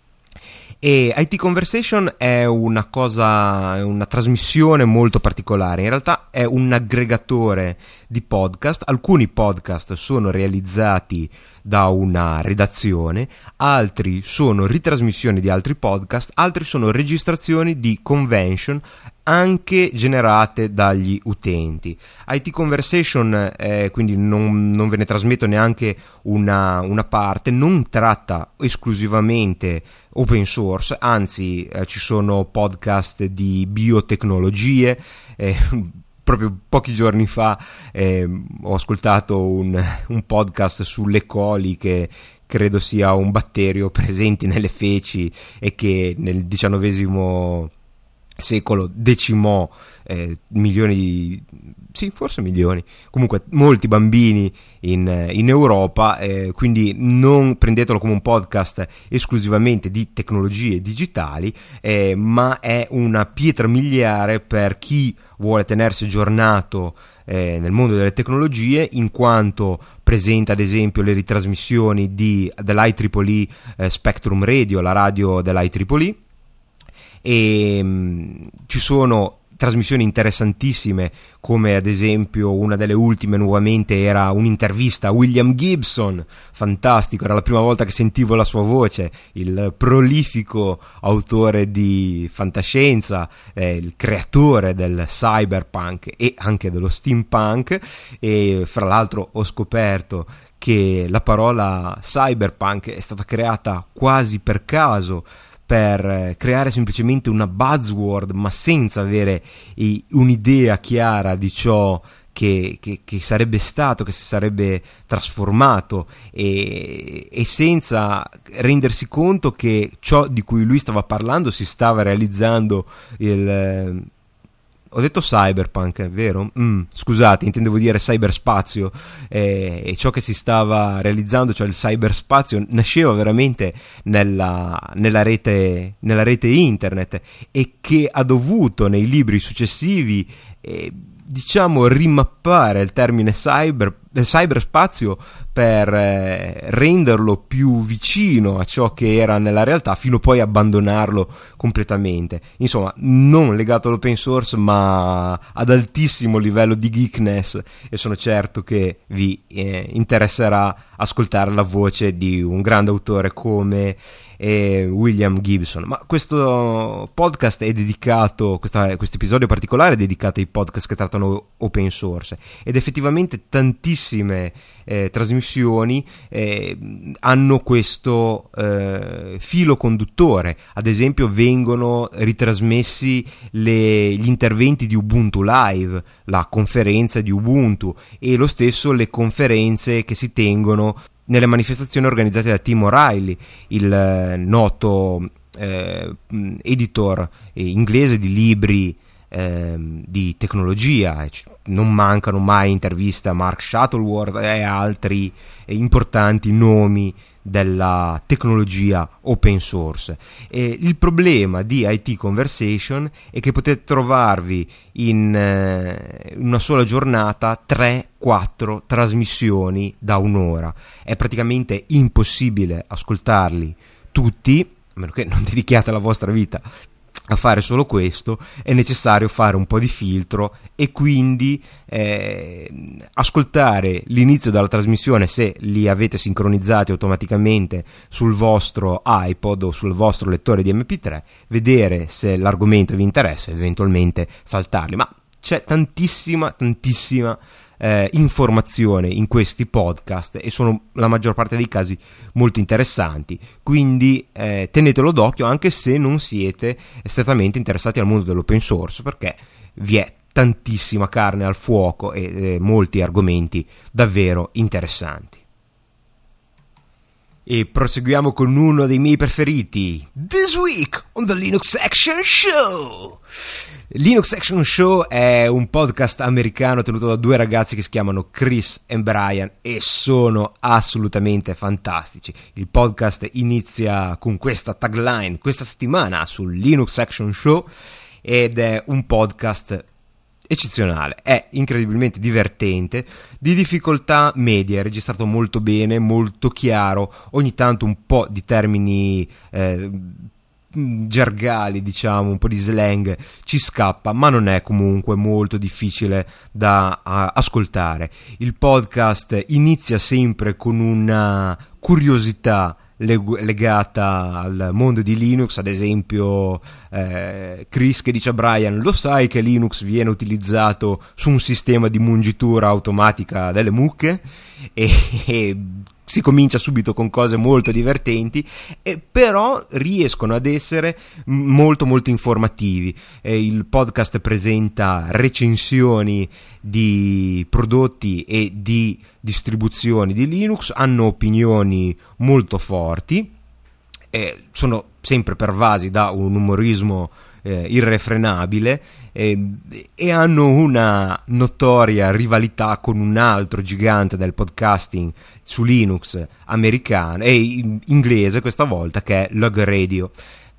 Speaker 2: E I T Conversation è una cosa, è una trasmissione molto particolare. In realtà è un aggregatore di podcast. Alcuni podcast sono realizzati da una redazione, altri sono ritrasmissioni di altri podcast, altri sono registrazioni di convention anche generate dagli utenti. I T Conversation eh, quindi non, non ve ne trasmetto neanche una, una parte, non tratta esclusivamente open source, anzi eh, ci sono podcast di biotecnologie. eh, Proprio pochi giorni fa eh, ho ascoltato un, un podcast sulle coli, che credo sia un batterio presente nelle feci e che nel diciannovesimo secolo decimò eh, milioni di, sì, forse milioni, comunque molti bambini in, in Europa, eh, quindi non prendetelo come un podcast esclusivamente di tecnologie digitali, eh, ma è una pietra miliare per chi vuole tenersi aggiornato eh, nel mondo delle tecnologie, in quanto presenta ad esempio le ritrasmissioni di, dell'I E E E eh, Spectrum Radio, la radio dell'I E E E, e mh, ci sono trasmissioni interessantissime, come ad esempio una delle ultime nuovamente era un'intervista a William Gibson, fantastico, era la prima volta che sentivo la sua voce, il prolifico autore di fantascienza, eh, il creatore del cyberpunk e anche dello steampunk. E fra l'altro ho scoperto che la parola cyberpunk è stata creata quasi per caso, per creare semplicemente una buzzword, ma senza avere i, un'idea chiara di ciò che, che, che sarebbe stato, che si sarebbe trasformato, e, e senza rendersi conto che ciò di cui lui stava parlando si stava realizzando. Il Ho detto cyberpunk, vero? Mm, scusate, intendevo dire cyberspazio, eh, e ciò che si stava realizzando, cioè il cyberspazio, nasceva veramente nella, nella, rete, nella rete internet, e che ha dovuto nei libri successivi eh, diciamo rimappare il termine cyber, eh, cyberspazio per eh, renderlo più vicino a ciò che era nella realtà, fino poi a abbandonarlo completamente. Insomma, non legato all'open source, ma ad altissimo livello di geekness, e sono certo che vi eh, interesserà ascoltare la voce di un grande autore come eh, William Gibson. Ma questo podcast è dedicato, questo episodio particolare è dedicato ai podcast che trattano open source, ed effettivamente tantissime eh, trasmissioni eh, hanno questo eh, filo conduttore. Ad esempio vengono ritrasmessi le, gli interventi di Ubuntu Live, la conferenza di Ubuntu, e lo stesso le conferenze che si tengono nelle manifestazioni organizzate da Tim O'Reilly, il eh, noto eh, editor eh, inglese di libri eh, di tecnologia. Non mancano mai interviste a Mark Shuttleworth e altri eh, importanti nomi della tecnologia open source. E il problema di I T Conversation è che potete trovarvi in eh, una sola giornata tre quattro trasmissioni da un'ora. È praticamente impossibile ascoltarli tutti, a meno che non dedichiate la vostra vita a fare solo questo. È necessario fare un po' di filtro e quindi eh, ascoltare l'inizio della trasmissione, se li avete sincronizzati automaticamente sul vostro iPod o sul vostro lettore di M P tre, vedere se l'argomento vi interessa e eventualmente saltarli. Ma c'è tantissima tantissima eh, informazione in questi podcast, e sono la maggior parte dei casi molto interessanti, quindi eh, tenetelo d'occhio anche se non siete strettamente interessati al mondo dell'open source, perché vi è tantissima carne al fuoco e eh, molti argomenti davvero interessanti. E proseguiamo con uno dei miei preferiti, This Week on the Linux Action Show. Linux Action Show è un podcast americano tenuto da due ragazzi che si chiamano Chris e Brian, e sono assolutamente fantastici. Il podcast inizia con questa tagline questa settimana sul Linux Action Show, ed è un podcast eccezionale, è incredibilmente divertente, di difficoltà media, è registrato molto bene, molto chiaro, ogni tanto un po' di termini eh, gergali, diciamo, un po' di slang ci scappa, ma non è comunque molto difficile da uh, ascoltare. Il podcast inizia sempre con una curiosità legata al mondo di Linux. Ad esempio eh, Chris che dice a Brian: lo sai che Linux viene utilizzato su un sistema di mungitura automatica delle mucche? E, e si comincia subito con cose molto divertenti, e però riescono ad essere molto molto informativi. E il podcast presenta recensioni di prodotti e di distribuzioni di Linux, hanno opinioni molto forti, eh, sono sempre pervasi da un umorismo eh, irrefrenabile, eh, e hanno una notoria rivalità con un altro gigante del podcasting su Linux americano e inglese questa volta, che è Log Radio.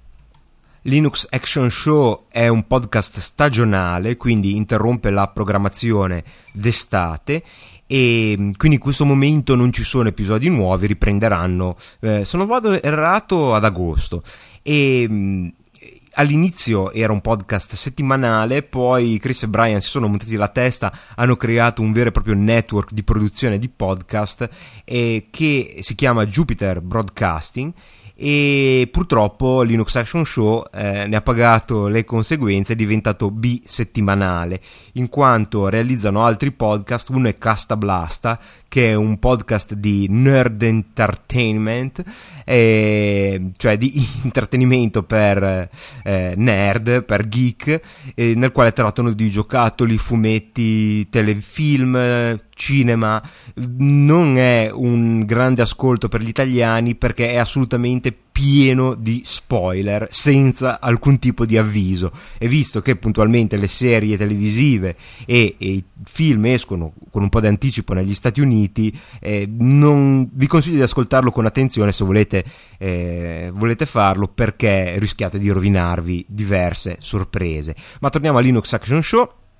Speaker 2: Linux Action Show è un podcast stagionale, quindi interrompe la programmazione d'estate, e quindi in questo momento non ci sono episodi nuovi, riprenderanno eh, se non vado errato ad agosto. E mh, all'inizio era un podcast settimanale, poi Chris e Brian si sono montati la testa, hanno creato un vero e proprio network di produzione di podcast eh, che si chiama Jupiter Broadcasting, e purtroppo Linux Action Show eh, ne ha pagato le conseguenze, è diventato bisettimanale, in quanto realizzano altri podcast. Uno è Casta Blasta, che è un podcast di nerd entertainment, eh, cioè di intrattenimento per eh, nerd, per geek, eh, nel quale trattano di giocattoli, fumetti, telefilm, cinema. Non è un grande ascolto per gli italiani, perché è assolutamente pieno di spoiler senza alcun tipo di avviso, e visto che puntualmente le serie televisive e, e i film escono con un po' di anticipo negli Stati Uniti, eh, non vi consiglio di ascoltarlo con attenzione se volete, eh, volete farlo, perché rischiate di rovinarvi diverse sorprese. Ma torniamo a Linux Action Show.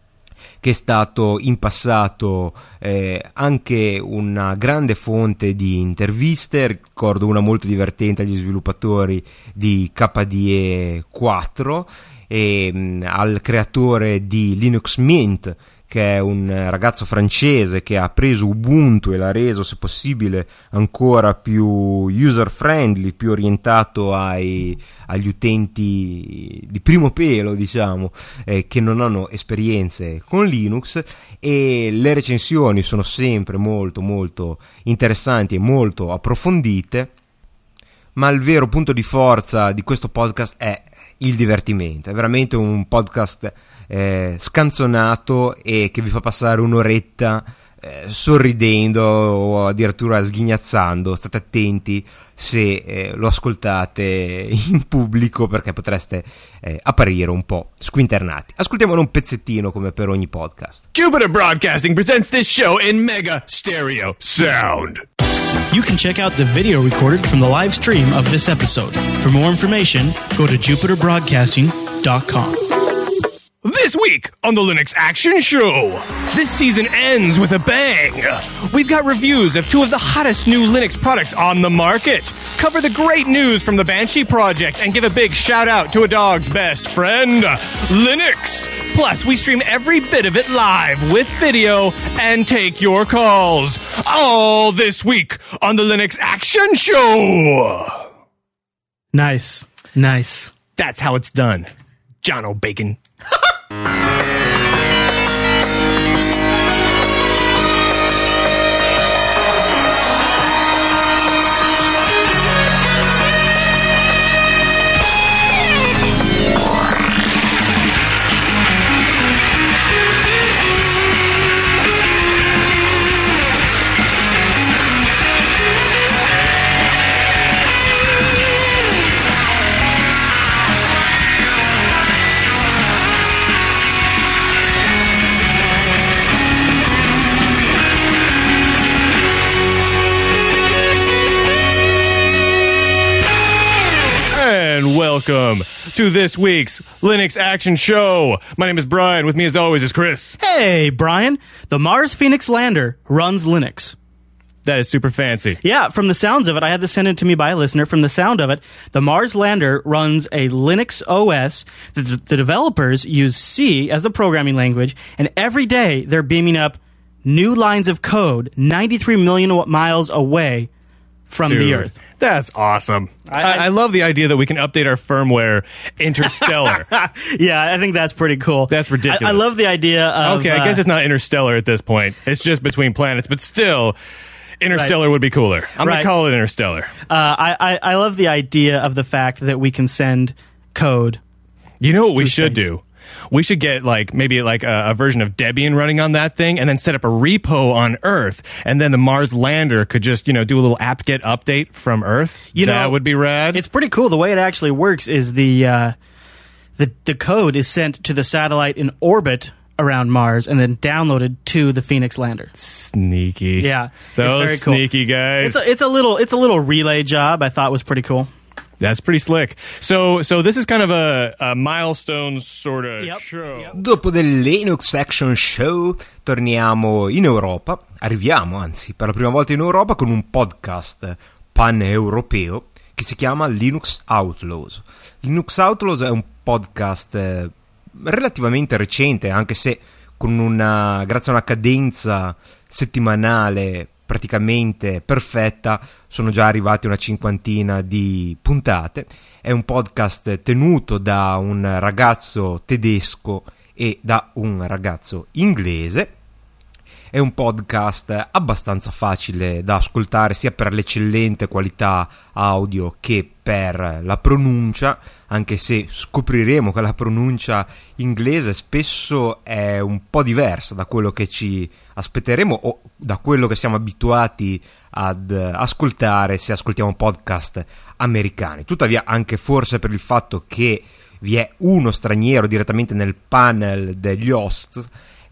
Speaker 2: che è stato in passato eh, anche una grande fonte di interviste. Ricordo una molto divertente agli sviluppatori di K D E quattro e mh, al creatore di Linux Mint, che è un ragazzo francese che ha preso Ubuntu e l'ha reso, se possibile, ancora più user friendly, più orientato ai, agli utenti di primo pelo, diciamo, eh, che non hanno esperienze con Linux. E le recensioni sono sempre molto molto interessanti e molto approfondite, ma il vero punto di forza di questo podcast è il divertimento. È veramente un podcast eh, scanzonato e che vi fa passare un'oretta eh, sorridendo o addirittura sghignazzando. State attenti se eh, lo ascoltate in pubblico, perché potreste eh, apparire un po' squinternati. Ascoltiamolo un pezzettino come per ogni podcast.
Speaker 6: Jupiter Broadcasting presents this show in mega stereo sound.
Speaker 7: You can check out the video recorded from the live stream of this episode. For more information, go to jupiter broadcasting dot com.
Speaker 6: This week on the Linux Action Show, this season ends with a bang. We've got reviews of two of the hottest new Linux products on the market, cover the great news from the Banshee project, and give a big shout out to a dog's best friend, Linux. Plus, we stream every bit of it live with video and take your calls. All this week on the Linux Action Show.
Speaker 7: Nice. Nice.
Speaker 6: That's how it's done. John O'Bacon. And welcome to this week's Linux Action Show. My name is Brian. With me, as always, is Chris.
Speaker 7: Hey, Brian. The Mars Phoenix lander runs Linux.
Speaker 6: That is super fancy.
Speaker 7: Yeah, from the sounds of it, I had this sent in to me by a listener. From the sound of it, the Mars lander runs a Linux O S. The, the developers use C as the programming language, and every day they're beaming up new lines of code ninety-three million miles away from
Speaker 6: Dude,
Speaker 7: the Earth.
Speaker 6: That's awesome. I,
Speaker 7: I-
Speaker 6: I, I love the idea that we can update our firmware interstellar.
Speaker 7: Yeah, I think that's pretty cool.
Speaker 6: That's ridiculous.
Speaker 7: I, I love the idea of...
Speaker 6: Okay, I guess
Speaker 7: uh,
Speaker 6: it's not interstellar at this point. It's just between planets, but still, interstellar would be cooler. I'm
Speaker 7: Right.
Speaker 6: going to call it interstellar.
Speaker 7: Uh, I, I, I love the idea of the fact that we can send code.
Speaker 6: You know what we
Speaker 7: Through
Speaker 6: should
Speaker 7: space.
Speaker 6: do? We should get like maybe like a, a version of Debian running on that thing, and then set up a repo on Earth, and then the Mars lander could just you know do a little apt-get update from Earth.
Speaker 7: You know,
Speaker 6: that would be rad.
Speaker 7: It's pretty cool. The way it actually works is the uh, the the code is sent to the satellite in orbit around Mars and then downloaded to the Phoenix lander.
Speaker 6: Sneaky.
Speaker 7: Yeah,
Speaker 6: those
Speaker 7: it's very cool.
Speaker 6: sneaky guys.
Speaker 7: It's a, it's a little it's a little relay job. I thought was pretty cool.
Speaker 6: That's pretty slick. So, so this is kind of a, a milestone sort of
Speaker 7: Yep,
Speaker 6: show.
Speaker 7: yep.
Speaker 2: Dopo del Linux Action Show torniamo in Europa, arriviamo anzi per la prima volta in Europa con un podcast pan-europeo che si chiama Linux Outlaws. Linux Outlaws è un podcast eh, relativamente recente, anche se con una, grazie a una cadenza settimanale praticamente perfetta, sono già arrivati una cinquantina di puntate. È un podcast tenuto da un ragazzo tedesco e da un ragazzo inglese. È un podcast abbastanza facile da ascoltare sia per l'eccellente qualità audio che per la pronuncia, anche se scopriremo che la pronuncia inglese spesso è un po' diversa da quello che ci aspetteremo o da quello che siamo abituati ad ascoltare se ascoltiamo podcast americani. Tuttavia, anche forse per il fatto che vi è uno straniero direttamente nel panel degli host,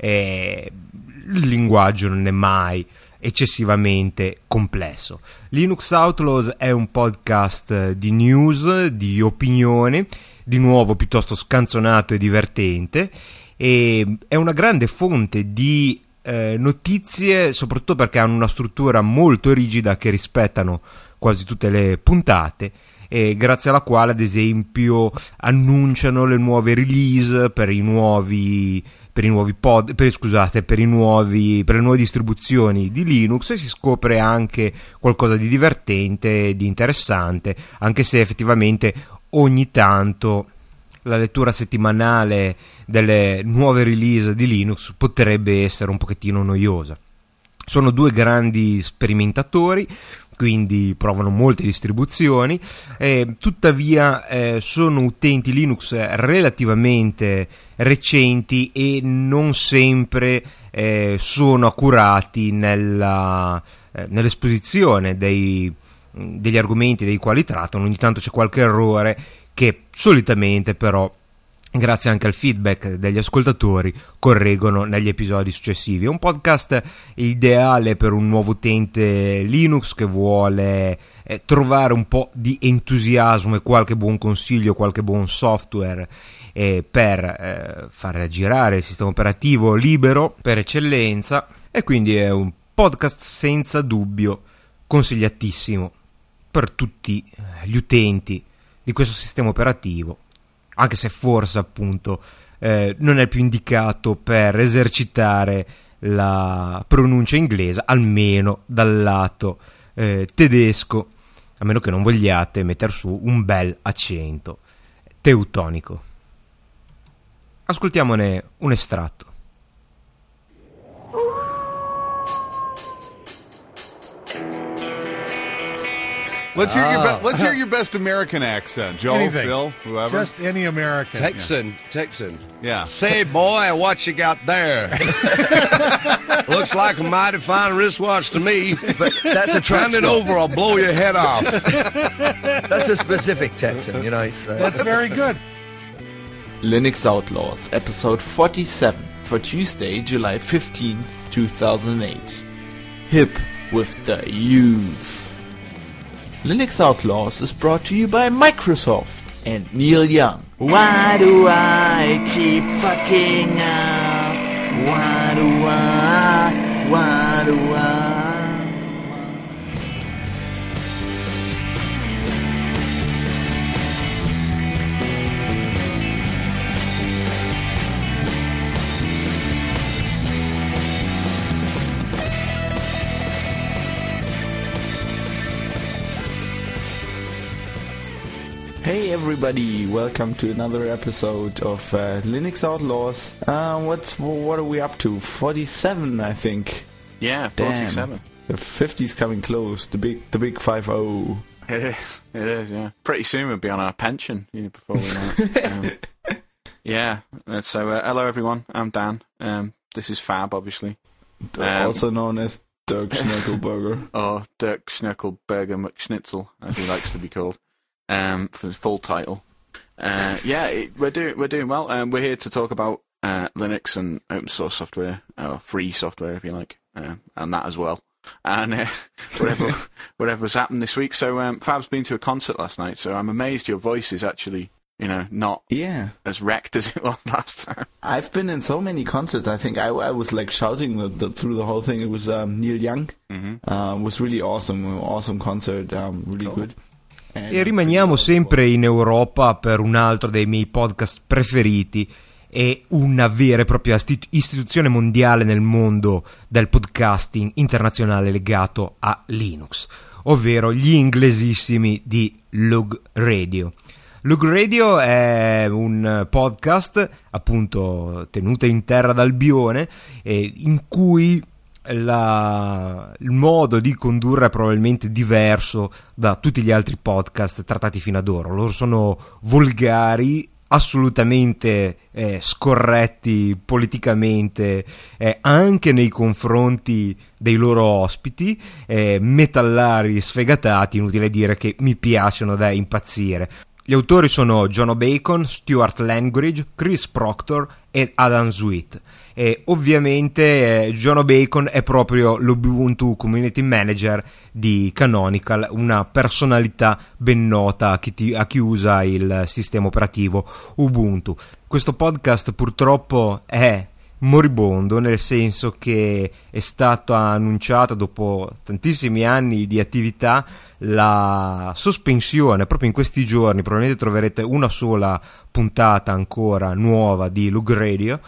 Speaker 2: eh, il linguaggio non è mai eccessivamente complesso. Linux Outlaws è un podcast di news, di opinione, di nuovo piuttosto scanzonato e divertente, e è una grande fonte di eh, notizie, soprattutto perché hanno una struttura molto rigida che rispettano quasi tutte le puntate, e grazie alla quale ad esempio annunciano le nuove release per i nuovi per i nuovi pod per, scusate per i nuovi per le nuove distribuzioni di Linux, e si scopre anche qualcosa di divertente, di interessante, anche se effettivamente ogni tanto la lettura settimanale delle nuove release di Linux potrebbe essere un pochettino noiosa. Sono due grandi sperimentatori, quindi provano molte distribuzioni, eh, tuttavia eh, sono utenti Linux relativamente recenti e non sempre eh, sono accurati nella, eh, nell'esposizione dei, degli argomenti dei quali trattano. Ogni tanto c'è qualche errore che solitamente però, grazie anche al feedback degli ascoltatori, correggono negli episodi successivi. È un podcast ideale per un nuovo utente Linux che vuole eh, trovare un po' di entusiasmo e qualche buon consiglio, qualche buon software eh, per eh, far girare il sistema operativo libero per eccellenza, e quindi è un podcast senza dubbio consigliatissimo per tutti gli utenti di questo sistema operativo, anche se forse appunto eh, non è più indicato per esercitare la pronuncia inglese, almeno dal lato eh, tedesco, a meno che non vogliate mettere su un bel accento teutonico. Ascoltiamone un estratto.
Speaker 8: Let's hear, your be- let's hear your best American accent, Joe,
Speaker 9: Anything.
Speaker 8: Phil, whoever.
Speaker 9: Just any American.
Speaker 10: Texan, Texan.
Speaker 8: Yeah.
Speaker 10: Say, boy, what you got there? Looks like a mighty fine wristwatch to me.
Speaker 11: But that's a
Speaker 10: Hand it over, I'll blow your head off.
Speaker 11: That's a specific Texan, you know. Uh,
Speaker 9: That's very good.
Speaker 12: Linux Outlaws, episode forty-seven, for Tuesday, July fifteenth, two thousand eight. Hip with the youth. Linux Outlaws is brought to you by Microsoft and Neil Young. Why do I keep fucking up? Why do I? Why do I? Hey everybody, welcome to another episode of uh, Linux Outlaws. Uh, what's what are we up to? forty-seven, I think.
Speaker 13: Yeah, forty-seven.
Speaker 12: Damn. The fifty's coming close. The big, the big five oh.
Speaker 13: It is. It is. Yeah. Pretty soon we'll be on our pension. You know, before we know it. Um, yeah. So uh, hello everyone. I'm Dan. Um, this is Fab, obviously.
Speaker 12: Um, also known as Dirk Schneckelberger.
Speaker 13: Or Dirk Schneckelberger McSchnitzel, as he likes to be called. Um, for the full title. Uh, yeah, it, we're doing we're doing well. Um, we're here to talk about uh, Linux and open source software, or free software, if you like, uh, and that as well. And uh, whatever whatever's happened this week. So um, Fab's been to a concert last night. So I'm amazed your voice is actually, you know, not
Speaker 12: yeah
Speaker 13: as wrecked as it was last time.
Speaker 12: I've been in so many concerts. I think I, I was like shouting the, the, through the whole thing. It was um, Neil Young. Mm-hmm. Uh, it was really awesome. Awesome concert. Um, really cool. Good.
Speaker 2: E rimaniamo sempre in Europa per un altro dei miei podcast preferiti e una vera e propria istituzione mondiale nel mondo del podcasting internazionale legato a Linux, ovvero gli inglesissimi di Lug Radio. Lug Radio è un podcast appunto tenuto in terra d'Albione, eh, in cui La, il modo di condurre è probabilmente diverso da tutti gli altri podcast trattati fino ad ora. Loro sono volgari, assolutamente eh, scorretti politicamente, eh, anche nei confronti dei loro ospiti, eh, metallari sfegatati, inutile dire che mi piacciono da impazzire. Gli autori sono John O'Bacon, Stuart Langridge, Chris Proctor e Adam Sweet. E ovviamente eh, Jono Bacon è proprio l'Ubuntu Community Manager di Canonical, una personalità ben nota a chi, ti, a chi usa il sistema operativo Ubuntu. Questo podcast purtroppo è moribondo, nel senso che è stato annunciato dopo tantissimi anni di attività la sospensione proprio in questi giorni. Probabilmente troverete una sola puntata ancora nuova di Lug Radio,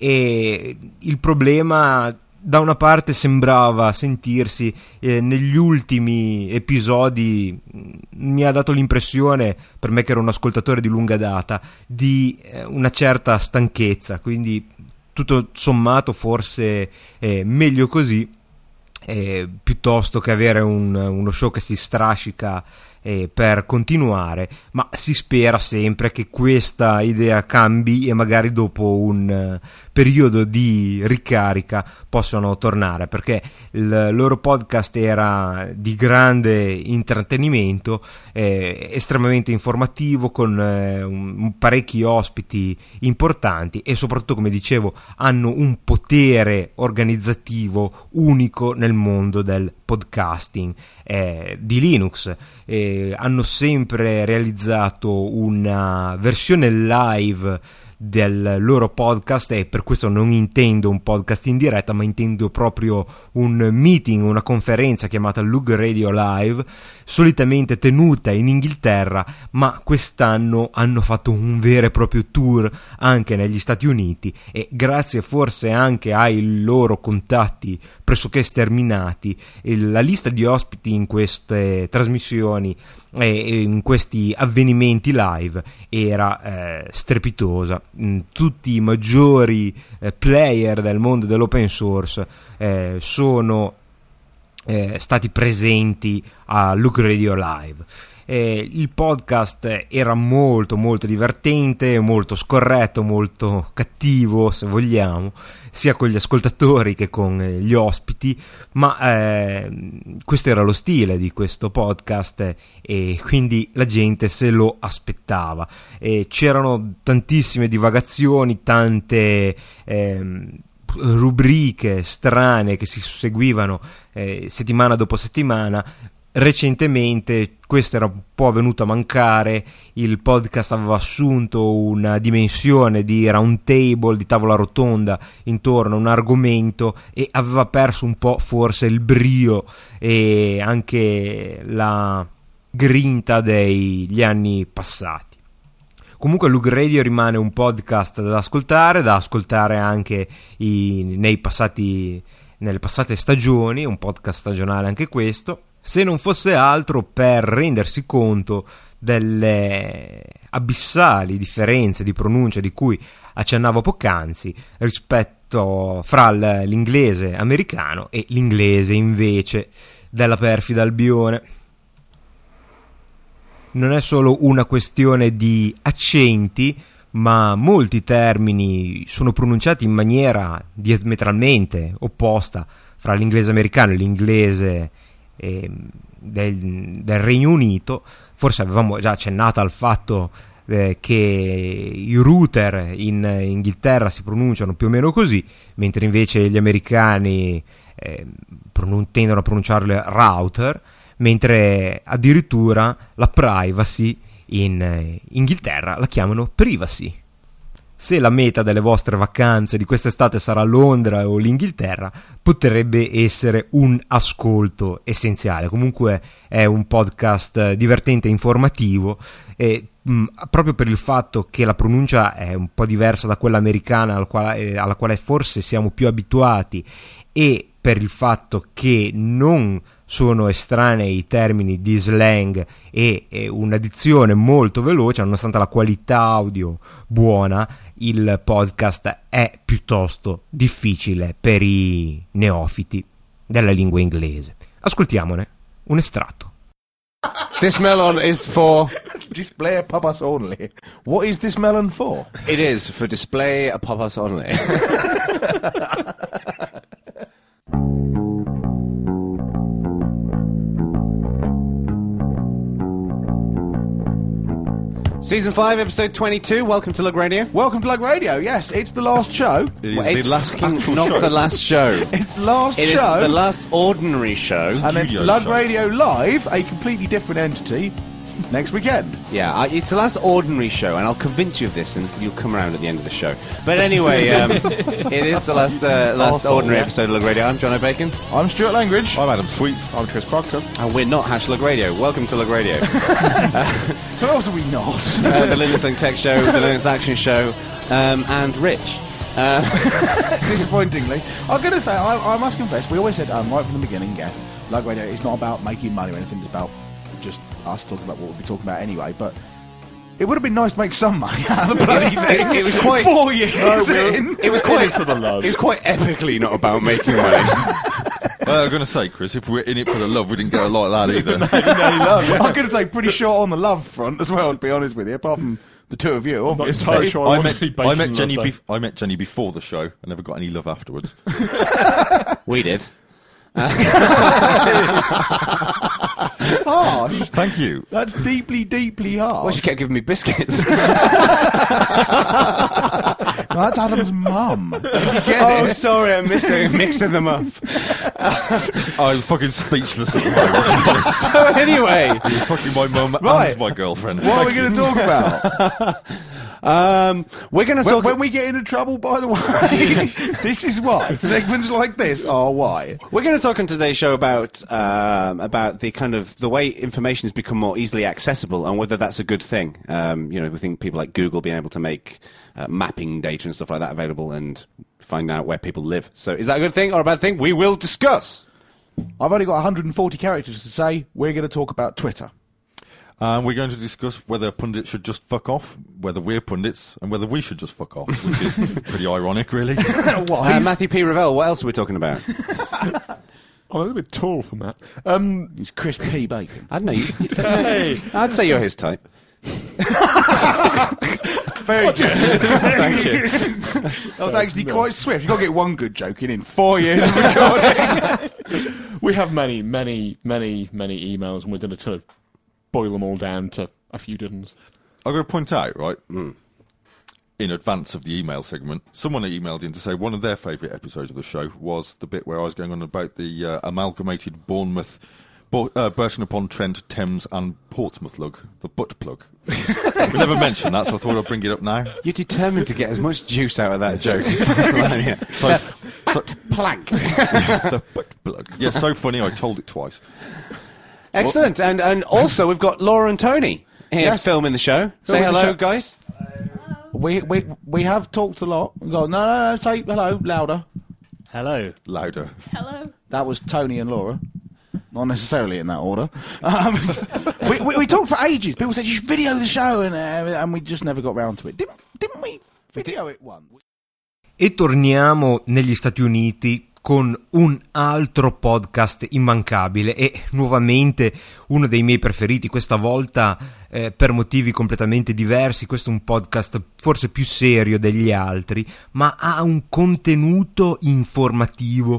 Speaker 2: e il problema da una parte sembrava sentirsi eh, negli ultimi episodi, mi ha dato l'impressione, per me che ero un ascoltatore di lunga data, di eh, una certa stanchezza, quindi tutto sommato forse eh, meglio così, eh, piuttosto che avere un, uno show che si strascica eh, per continuare, ma si spera sempre che questa idea cambi e magari dopo un uh, periodo di ricarica possano tornare, perché il loro podcast era di grande intrattenimento, eh, estremamente informativo, con eh, un, parecchi ospiti importanti, e soprattutto, come dicevo, hanno un potere organizzativo unico nel mondo del podcasting eh, di Linux. Eh, hanno sempre realizzato una versione live del loro podcast, e per questo non intendo un podcast in diretta, ma intendo proprio un meeting, una conferenza chiamata Lug Radio Live, solitamente tenuta in Inghilterra, ma quest'anno hanno fatto un vero e proprio tour anche negli Stati Uniti, e grazie forse anche ai loro contatti pressoché sterminati, la lista di ospiti in queste trasmissioni e in questi avvenimenti live era eh, strepitosa. Tutti i maggiori eh, player del mondo dell'open source eh, sono eh, stati presenti a Lug Radio Live. Eh, il podcast era molto molto divertente, molto scorretto, molto cattivo, se vogliamo, sia con gli ascoltatori che con eh, gli ospiti, ma eh, questo era lo stile di questo podcast, eh, e quindi la gente se lo aspettava. Eh, c'erano tantissime divagazioni, tante eh, rubriche strane che si susseguivano eh, settimana dopo settimana. Recentemente questo era un po' venuto a mancare, il podcast aveva assunto una dimensione di round table, di tavola rotonda intorno a un argomento, e aveva perso un po' forse il brio e anche la grinta degli anni passati. Comunque Lug Radio rimane un podcast da ascoltare, da ascoltare anche i, nei passati, nelle passate stagioni, un podcast stagionale anche questo, se non fosse altro per rendersi conto delle abissali differenze di pronuncia di cui accennavo poc'anzi rispetto fra l'inglese americano e l'inglese invece della perfida Albione. Non è solo una questione di accenti, ma molti termini sono pronunciati in maniera diametralmente opposta fra l'inglese americano e l'inglese eh, del, del Regno Unito. Forse avevamo già accennato al fatto eh, che i router in Inghilterra si pronunciano più o meno così, mentre invece gli americani eh, pronun- tendono a pronunciarle router, mentre addirittura la privacy in Inghilterra la chiamano privacy. Se la meta delle vostre vacanze di quest'estate sarà Londra o l'Inghilterra, potrebbe essere un ascolto essenziale. Comunque è un podcast divertente e informativo, e mh, proprio per il fatto che la pronuncia è un po' diversa da quella americana alla quale, alla quale forse siamo più abituati, e per il fatto che non sono estranei i termini di slang e, e una dizione molto veloce, nonostante la qualità audio buona, il podcast è piuttosto difficile per i neofiti della lingua inglese. Ascoltiamone un estratto.
Speaker 9: This melon is for display a purpose only. What is this melon for?
Speaker 14: It is for display a purpose only. Season five, episode twenty-two. Welcome to Lug Radio.
Speaker 9: Welcome to Lug Radio. Yes, it's the last show.
Speaker 14: It is well, the last actual not show. the last show.
Speaker 9: It's the last
Speaker 14: it
Speaker 9: show.
Speaker 14: It is the last ordinary show.
Speaker 9: And then
Speaker 14: Studio
Speaker 9: Lug
Speaker 14: show.
Speaker 9: Radio Live, a completely different entity, next weekend.
Speaker 14: Yeah, I, it's the last ordinary show, and I'll convince you of this, and you'll come around at the end of the show. But anyway, um, it is the last uh, last
Speaker 9: Awesome,
Speaker 14: ordinary
Speaker 9: yeah.
Speaker 14: episode of Lug Radio. I'm John O'Bacon.
Speaker 9: I'm Stuart Langridge.
Speaker 15: I'm Adam Sweet.
Speaker 16: I'm Chris Proctor.
Speaker 14: And we're not Hash Lug Radio. Welcome to Lug Radio.
Speaker 9: Who else are we not?
Speaker 14: uh, the Linux Link Tech Show, the Linux Action Show, um, and Rich. Uh,
Speaker 9: Disappointingly. I'm going to say, I, I must confess, we always said um, right from the beginning, yeah, Lug Radio is not about making money or anything, it's about just us talking about what we'll be talking about anyway, but it would have been nice to make some money out of the bloody thing.
Speaker 14: It, it was quite
Speaker 9: four years
Speaker 14: no,
Speaker 9: in.
Speaker 14: It was quite for the love. It was quite epically not about making money.
Speaker 15: Well, I'm going to say, Chris, if we're in it for the love, we didn't get a lot of that either.
Speaker 9: no, no love, yeah. I'm going to say pretty short on the love front as well, to be honest with you, apart from the two of you, obviously.
Speaker 16: I'm not sure I,
Speaker 15: I, met, I, met Jenny
Speaker 16: bef-
Speaker 15: I met Jenny before the show. I never got any love afterwards.
Speaker 14: We did.
Speaker 9: Harsh.
Speaker 15: Thank you.
Speaker 9: That's deeply, deeply harsh.
Speaker 14: Well, she kept giving me biscuits.
Speaker 9: That's Adam's mum.
Speaker 14: Oh, sorry, I'm missing, mixing them up.
Speaker 15: I'm fucking speechless at the moment.
Speaker 14: So anyway,
Speaker 15: you're fucking my mum
Speaker 9: Right.
Speaker 15: and my girlfriend.
Speaker 9: What are we going to talk about?
Speaker 14: Um, we're going to
Speaker 9: when,
Speaker 14: talk...
Speaker 9: when we get into trouble, by the way, this is why. Segments like this are why.
Speaker 14: We're going to talk on today's show about um, about the kind of the way information has become more easily accessible and whether that's a good thing. Um, you know, we think people like Google being able to make uh, mapping data and stuff like that available and find out where people live. So is that a good thing or a bad thing? We will discuss.
Speaker 9: I've only got one hundred forty characters to say. We're going to talk about Twitter.
Speaker 15: Um, we're going to discuss whether pundits should just fuck off, whether we're pundits, and whether we should just fuck off, which is pretty ironic, really.
Speaker 14: uh, Matthew P. Ravel, what else are we talking about?
Speaker 16: I'm a little bit tall for Matt. Um,
Speaker 9: He's Chris P. Bacon.
Speaker 14: I don't know. You, you don't
Speaker 16: Hey.
Speaker 14: I'd say you're his type.
Speaker 9: Very good.
Speaker 14: Thank you.
Speaker 9: That was actually quite swift. You've got to get one good joke in in four years of recording.
Speaker 16: we have many, many, many, many emails, and we're going to sort of boil them all down to a few dozens.
Speaker 15: I've got to point out, right, mm. in advance of the email segment, someone emailed in to say one of their favourite episodes of the show was the bit where I was going on about the uh, amalgamated Bournemouth, Bo- uh, Burton-upon-Trent, Thames and Portsmouth lug, the butt plug. We never mentioned that, so I thought I'd bring it up now.
Speaker 14: You're determined to get as much juice out of that joke as possible.
Speaker 15: So, so,
Speaker 14: plank.
Speaker 15: The butt plug. Yeah, so funny, I told it twice.
Speaker 14: Excellent, and and also we've got Laura and Tony here
Speaker 9: Yes.
Speaker 14: filming the show. Say
Speaker 9: Filming the
Speaker 14: hello,
Speaker 9: show.
Speaker 14: guys.
Speaker 9: We we we have talked a lot. We go, no, no, no, say hello, louder.
Speaker 17: Hello.
Speaker 15: Louder.
Speaker 18: Hello.
Speaker 9: That was Tony and Laura. Not necessarily in that order. Um, we, we, we talked for ages. People said, you should video the show, and, uh, and we just never got round to it. Didn't, didn't we video it once?
Speaker 2: E torniamo negli Stati Uniti con un altro podcast immancabile e nuovamente uno dei miei preferiti, questa volta eh, per motivi completamente diversi. Questo è un podcast forse più serio degli altri, ma ha un contenuto informativo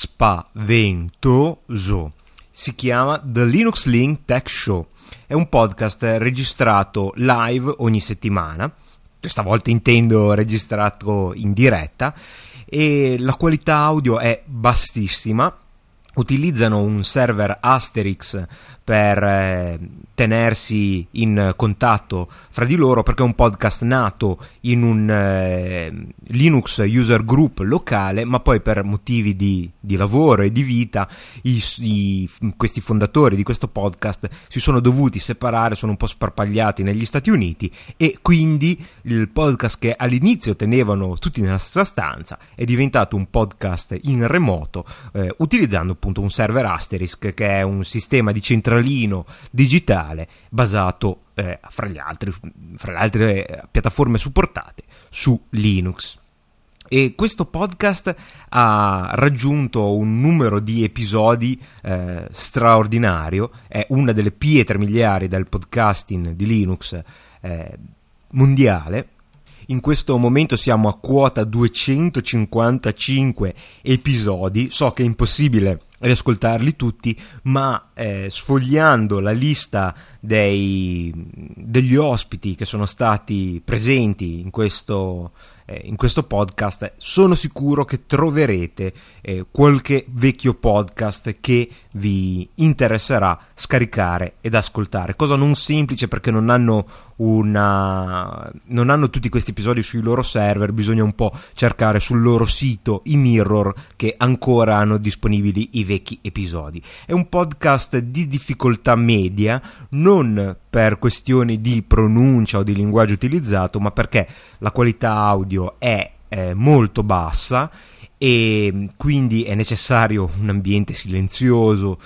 Speaker 2: spaventoso. Si chiama The Linux Link Tech Show. È un podcast registrato live ogni settimana, questa volta intendo registrato in diretta, e la qualità audio è bassissima. Utilizzano un server Asterix per eh, tenersi in contatto fra di loro, perché è un podcast nato in un eh, Linux user group locale, ma poi per motivi di, di lavoro e di vita i, i, questi fondatori di questo podcast si sono dovuti separare, sono un po' sparpagliati negli Stati Uniti, e quindi il podcast che all'inizio tenevano tutti nella stessa stanza è diventato un podcast in remoto, eh, utilizzando appunto un server Asterisk, che è un sistema di centralino digitale basato eh, fra gli altri, fra le altre eh, piattaforme supportate su Linux. E questo podcast ha raggiunto un numero di episodi eh, straordinario, è una delle pietre miliari del podcasting di Linux eh, mondiale. In questo momento siamo a quota duecentocinquantacinque episodi. So che è impossibile riascoltarli tutti, ma eh, sfogliando la lista dei, degli ospiti che sono stati presenti in questo, eh, in questo podcast, sono sicuro che troverete eh, qualche vecchio podcast che vi interesserà scaricare ed ascoltare, cosa non semplice perché non hanno una non hanno tutti questi episodi sui loro server, bisogna un po' cercare sul loro sito i mirror che ancora hanno disponibili i vecchi episodi. È un podcast di difficoltà media, non per questioni di pronuncia o di linguaggio utilizzato, ma perché la qualità audio è eh, molto bassa e quindi è necessario un ambiente silenzioso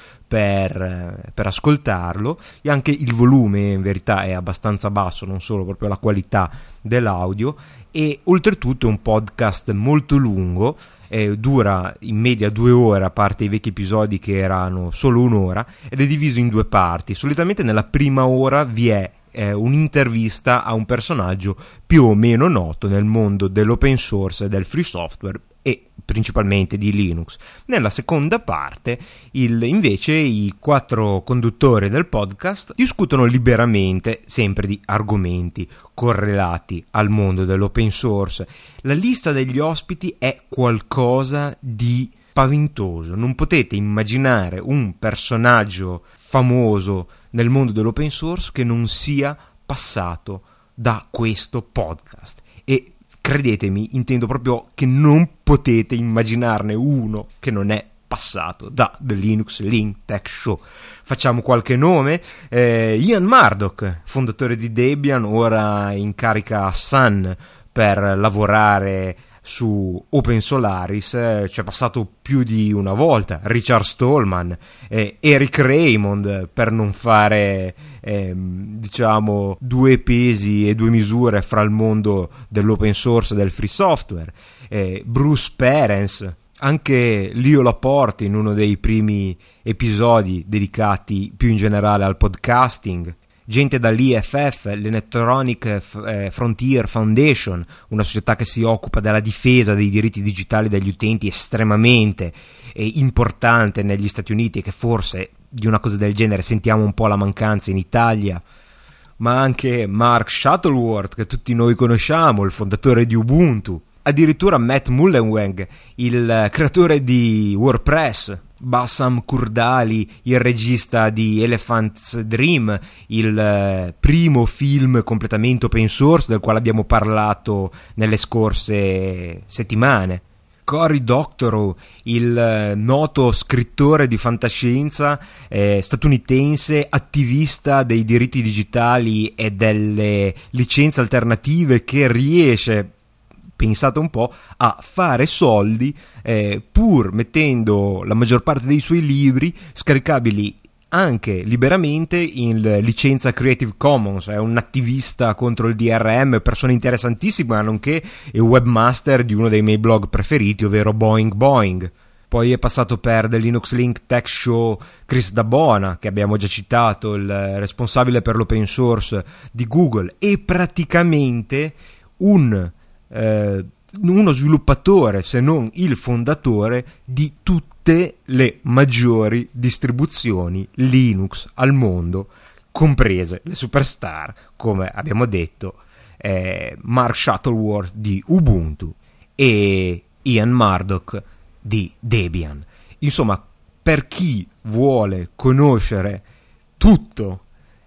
Speaker 2: per, per ascoltarlo, e anche il volume in verità è abbastanza basso, non solo proprio la qualità dell'audio, e oltretutto è un podcast molto lungo, eh, dura in media due ore a parte i vecchi episodi che erano solo un'ora, ed è diviso in due parti. Solitamente nella prima ora vi è eh, un'intervista a un personaggio più o meno noto nel mondo dell'open source e del free software e principalmente di Linux. Nella seconda parte il, invece i quattro conduttori del podcast discutono liberamente sempre di argomenti correlati al mondo dell'open source. La lista degli ospiti è qualcosa di spaventoso, non potete immaginare un personaggio famoso nel mondo dell'open source che non sia passato da questo podcast, e credetemi, intendo proprio che non potete immaginarne uno che non è passato da The Linux Link Tech Show. Facciamo qualche nome: eh, Ian Murdoch, fondatore di Debian, ora in carica a Sun per lavorare su Open Solaris, eh, c'è passato più di una volta. Richard Stallman, eh, Eric Raymond, per non fare eh, diciamo due pesi e due misure fra il mondo dell'open source e del free software, eh, Bruce Perens, anche Leo Laporte in uno dei primi episodi dedicati più in generale al podcasting, gente dall'I F F, l'Electronic Frontier Foundation, una società che si occupa della difesa dei diritti digitali degli utenti, estremamente eh, importante negli Stati Uniti, e che forse di una cosa del genere sentiamo un po' la mancanza in Italia. Ma anche Mark Shuttleworth, che tutti noi conosciamo, il fondatore di Ubuntu, addirittura Matt Mullenweg, il creatore di WordPress, Bassam Kurdali, il regista di Elephant's Dream, il eh, primo film completamente open source del quale abbiamo parlato nelle scorse settimane, Cory Doctorow, il eh, noto scrittore di fantascienza eh, statunitense, attivista dei diritti digitali e delle licenze alternative, che riesce, pensate un po', a fare soldi eh, pur mettendo la maggior parte dei suoi libri scaricabili anche liberamente in licenza Creative Commons. È un attivista contro il D R M, persona interessantissima, nonché il webmaster di uno dei miei blog preferiti, ovvero Boing Boing. Poi è passato per The Linux Link Tech Show Chris Dabona, che abbiamo già citato, il responsabile per l'open source di Google, e praticamente un Eh, uno sviluppatore, se non il fondatore, di tutte le maggiori distribuzioni Linux al mondo, comprese le superstar, come abbiamo detto, eh, Mark Shuttleworth di Ubuntu e Ian Murdoch di Debian. Insomma, per chi vuole conoscere tutto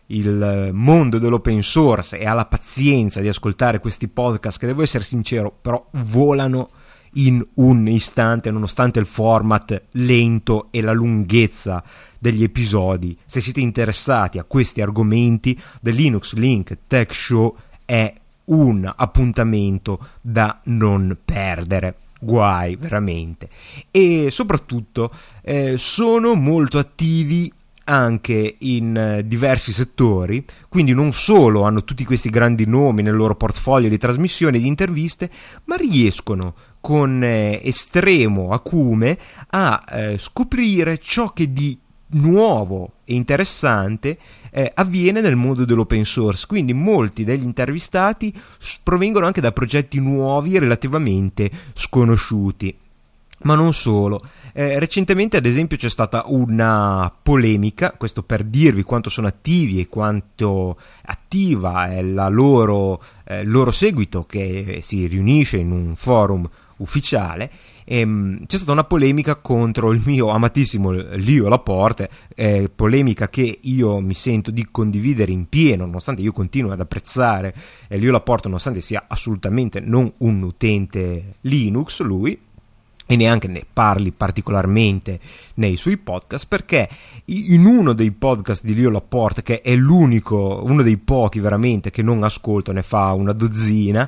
Speaker 2: il mondo dell'open source e ha la pazienza di ascoltare questi podcast, che, devo essere sincero, però volano in un istante, nonostante il format lento e la lunghezza degli episodi. Se siete interessati a questi argomenti, The Linux Link Tech Show è un appuntamento da non perdere. Guai, veramente. E soprattutto eh, sono molto attivi anche in eh, diversi settori, quindi non solo hanno tutti questi grandi nomi nel loro portfolio di trasmissioni e di interviste, ma riescono con eh, estremo acume a eh, scoprire ciò che di nuovo e interessante eh, avviene nel mondo dell'open source. Quindi molti degli intervistati provengono anche da progetti nuovi e relativamente sconosciuti. Ma non solo. Eh, recentemente, ad esempio, c'è stata una polemica, questo per dirvi quanto sono attivi e quanto attiva è la loro, eh, loro seguito, che si riunisce in un forum ufficiale. Ehm, c'è stata una polemica contro il mio amatissimo Lio Laporte, eh, polemica che io mi sento di condividere in pieno, nonostante io continuo ad apprezzare eh, Lio Laporte, nonostante sia assolutamente non un utente Linux lui, e neanche ne parli particolarmente nei suoi podcast, perché in uno dei podcast di Lio Laporte, che è l'unico, uno dei pochi veramente che non ascolto, ne fa una dozzina,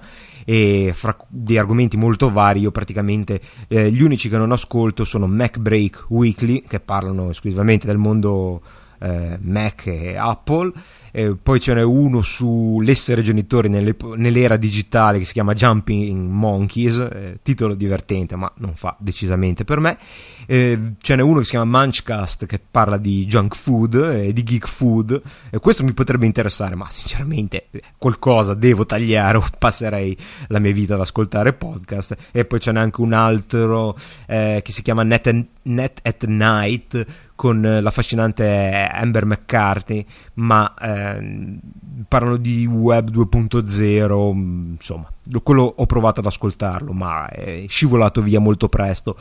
Speaker 2: e fra dei argomenti molto vari, io praticamente eh, gli unici che non ascolto sono Mac Break Weekly, che parlano esclusivamente del mondo eh, Mac e Apple. Eh, poi ce n'è uno sull'essere genitori nelle, nell'era digitale che si chiama Jumping Monkeys, eh, titolo divertente ma non fa decisamente per me. Eh, ce n'è uno che si chiama Munchcast, che parla di junk food e eh, di geek food, e questo mi potrebbe interessare, ma sinceramente qualcosa devo tagliare o passerei la mia vita ad ascoltare podcast. E poi ce n'è anche un altro eh, che si chiama Net, and, Net at Night, con l'affascinante Amber McCarthy, ma eh, parlano di web due punto zero, insomma, quello ho provato ad ascoltarlo, ma è scivolato via molto presto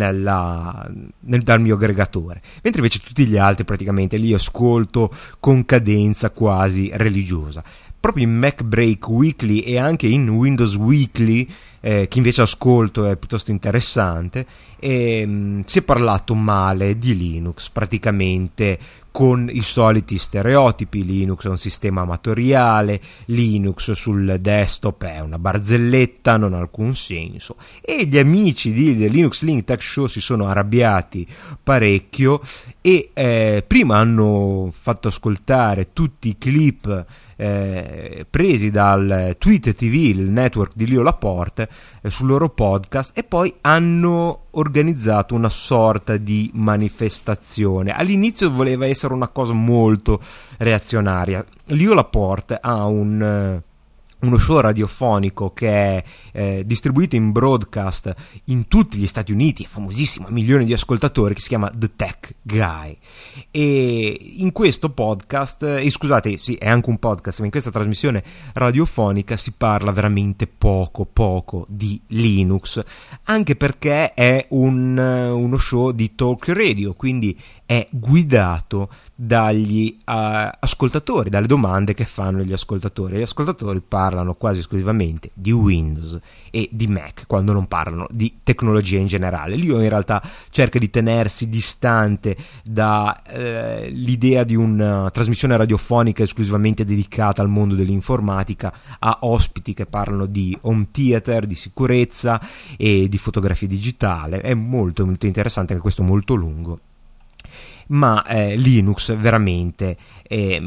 Speaker 2: nella, nel, dal mio aggregatore. Mentre invece tutti gli altri praticamente li ascolto con cadenza quasi religiosa. Proprio in Mac Break Weekly e anche in Windows Weekly, eh, che invece ascolto, è piuttosto interessante, e, mh, si è parlato male di Linux, praticamente con i soliti stereotipi. Linux è un sistema amatoriale, Linux sul desktop è una barzelletta, non ha alcun senso, e gli amici di The Linux Link Tech Show si sono arrabbiati parecchio e eh, prima hanno fatto ascoltare tutti i clip Eh, presi dal Tweet T V, il network di Lio Laporte, eh, sul loro podcast, e poi hanno organizzato una sorta di manifestazione. All'inizio voleva essere una cosa molto reazionaria. Lio Laporte ha un eh, uno show radiofonico che è eh, distribuito in broadcast in tutti gli Stati Uniti, è famosissimo, ha milioni di ascoltatori, che si chiama The Tech Guy. E in questo podcast, eh, scusate, sì, è anche un podcast, ma in questa trasmissione radiofonica si parla veramente poco, poco di Linux, anche perché è un, uno show di talk radio, quindi è guidato dagli uh, ascoltatori, dalle domande che fanno gli ascoltatori. Gli ascoltatori parlano quasi esclusivamente di Windows e di Mac, quando non parlano di tecnologia in generale. Lio in realtà cerca di tenersi distante dall'idea uh, di una trasmissione radiofonica esclusivamente dedicata al mondo dell'informatica, a ospiti che parlano di home theater, di sicurezza e di fotografia digitale. È molto molto interessante, anche questo molto lungo. Ma eh, Linux veramente è,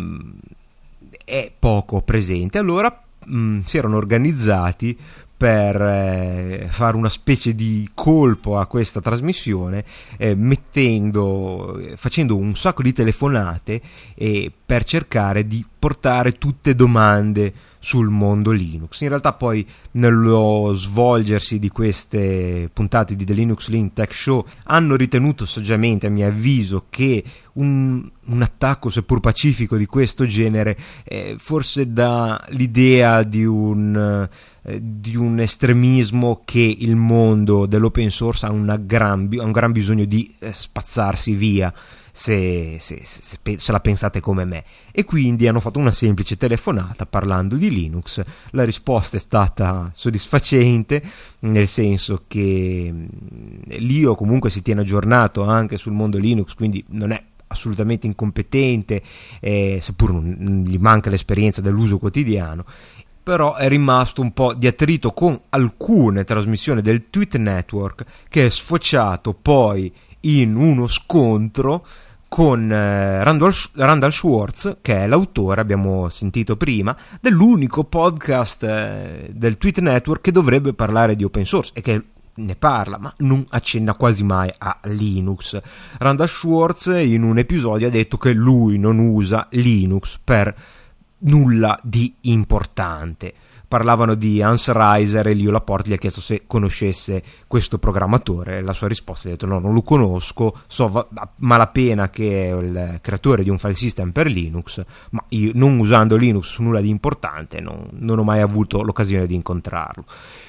Speaker 2: è poco presente. Allora mh, si erano organizzati per eh, fare una specie di colpo a questa trasmissione, eh, mettendo, facendo un sacco di telefonate eh, per cercare di portare tutte domande sul mondo Linux. In realtà poi nello svolgersi di queste puntate di The Linux Link Tech Show hanno ritenuto saggiamente, a mio avviso, che un, un attacco seppur pacifico di questo genere eh, forse dà l'idea di un eh, di un estremismo che il mondo dell'open source ha, una gran, ha un gran bisogno di eh, spazzarsi via, se, se, se, se la pensate come me. E quindi hanno fatto una semplice telefonata parlando di Linux. La risposta è stata soddisfacente, nel senso che Lio comunque si tiene aggiornato anche sul mondo Linux, quindi non è assolutamente incompetente, eh, seppur non gli manca l'esperienza dell'uso quotidiano. Però è rimasto un po' di attrito con alcune trasmissioni del Tweet Network, che è sfociato poi in uno scontro con eh, Randall, Randall Schwartz, che è l'autore, abbiamo sentito prima, dell'unico podcast eh, del Tweet Network che dovrebbe parlare di open source, e che ne parla, ma non accenna quasi mai a Linux. Randall Schwartz in un episodio ha detto che lui non usa Linux per nulla di importante. parlavano di Hans Reiser e Leo Laporte gli ha chiesto se conoscesse questo programmatore. La sua risposta gli ha detto no, non lo conosco, so va- a malapena che è il creatore di un file system per Linux, ma io non usando Linux su nulla di importante non, non ho mai avuto l'occasione di incontrarlo.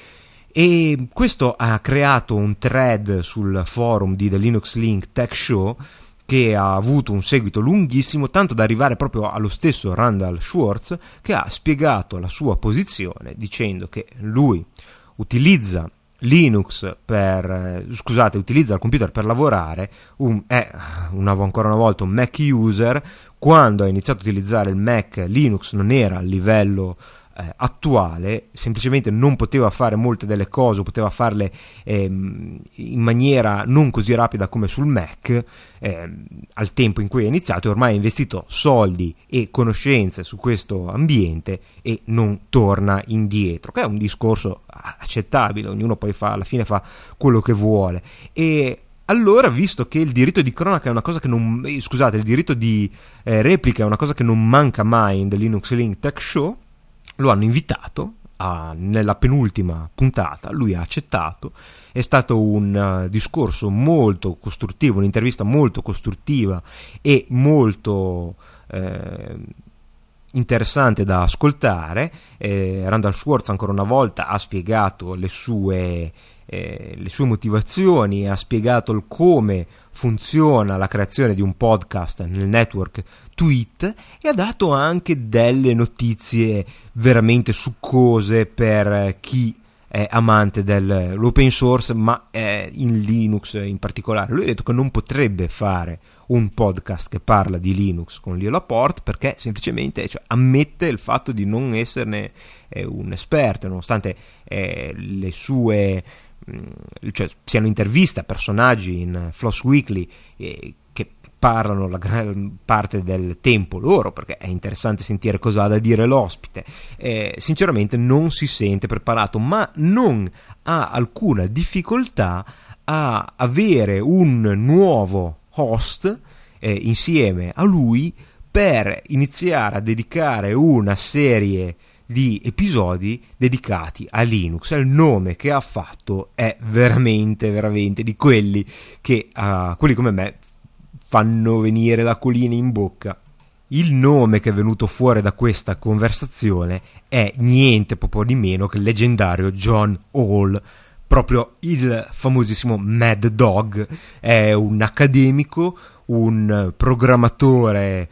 Speaker 2: E questo ha creato un thread sul forum di The Linux Link Tech Show che ha avuto un seguito lunghissimo, tanto da arrivare proprio allo stesso Randall Schwartz, che ha spiegato la sua posizione dicendo che lui utilizza Linux per eh, scusate, utilizza il computer per lavorare, un, è una, ancora una volta un Mac user. Quando ha iniziato a utilizzare il Mac, Linux non era a livello Eh, attuale, semplicemente non poteva fare molte delle cose, poteva farle ehm, in maniera non così rapida come sul Mac ehm, al tempo in cui è iniziato, e ormai ha investito soldi e conoscenze su questo ambiente e non torna indietro, che è un discorso accettabile, ognuno poi fa, alla fine fa quello che vuole. E allora, visto che il diritto di cronaca è una cosa che non eh, scusate, il diritto di eh, replica è una cosa che non manca mai in The Linux Link Tech Show, lo hanno invitato a, nella penultima puntata, lui ha accettato. È stato un uh, discorso molto costruttivo, un'intervista molto costruttiva e molto eh, interessante da ascoltare. eh, Randall Schwartz ancora una volta ha spiegato le sue eh, le sue motivazioni, ha spiegato il come funziona la creazione di un podcast nel network Tweet, e ha dato anche delle notizie veramente succose per chi è amante dell'open source, ma è in Linux in particolare. Lui ha detto che non potrebbe fare un podcast che parla di Linux con Leo Laporte perché semplicemente, cioè, ammette il fatto di non esserne eh, un esperto, nonostante eh, le sue mh, cioè siano interviste a personaggi in Floss Weekly eh, che parlano la gran parte del tempo loro, perché è interessante sentire cosa ha da dire l'ospite. Eh, sinceramente non si sente preparato, ma non ha alcuna difficoltà a avere un nuovo host eh, insieme a lui per iniziare a dedicare una serie di episodi dedicati a Linux. Il nome che ha fatto è veramente veramente di quelli che uh, quelli come me fanno venire l'acquolina in bocca. Il nome che è venuto fuori da questa conversazione è niente proprio di meno che il leggendario John Hall, proprio il famosissimo Mad Dog. È un accademico, un programmatore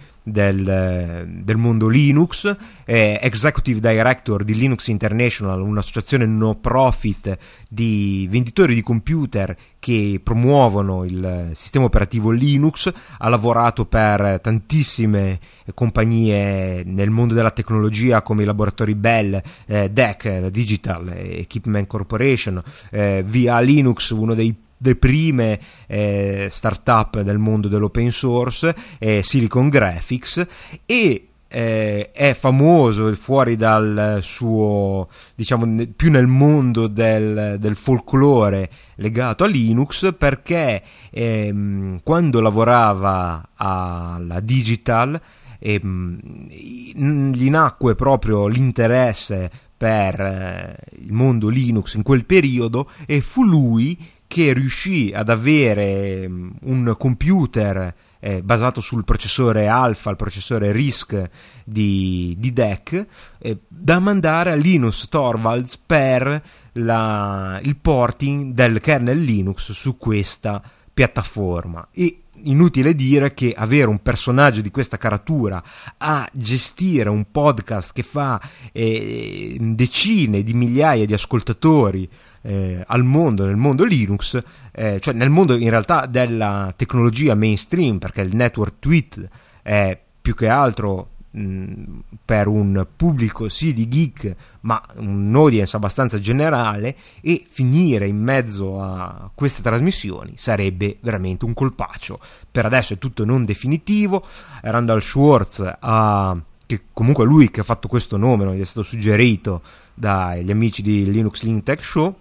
Speaker 2: del, del mondo Linux, è Executive Director di Linux International, un'associazione no profit di venditori di computer che promuovono il sistema operativo Linux. Ha lavorato per tantissime compagnie nel mondo della tecnologia come i laboratori Bell, eh, D E C, Digital Equipment Corporation, eh, V A Linux, uno dei le prime eh, start-up del mondo dell'open source, eh, Silicon Graphics, e eh, è famoso fuori dal suo, diciamo, più nel mondo del, del folklore legato a Linux, perché ehm, quando lavorava alla Digital ehm, gli nacque proprio l'interesse per eh, il mondo Linux in quel periodo, e fu lui che riuscì ad avere un computer eh, basato sul processore Alpha, il processore RISC di, di D E C, eh, da mandare a Linus Torvalds per la, il porting del kernel Linux su questa piattaforma. E inutile dire che avere un personaggio di questa caratura a gestire un podcast che fa eh, decine di migliaia di ascoltatori eh, al mondo, nel mondo Linux, eh, cioè nel mondo in realtà della tecnologia mainstream, perché il network Tweet è più che altro mh, per un pubblico sì di geek, ma un audience abbastanza generale, e finire in mezzo a queste trasmissioni sarebbe veramente un colpaccio. Per adesso è tutto non definitivo. Randall Schwartz ha, che comunque lui che ha fatto questo nome, non gli è stato suggerito dagli amici di Linux Link Tech Show,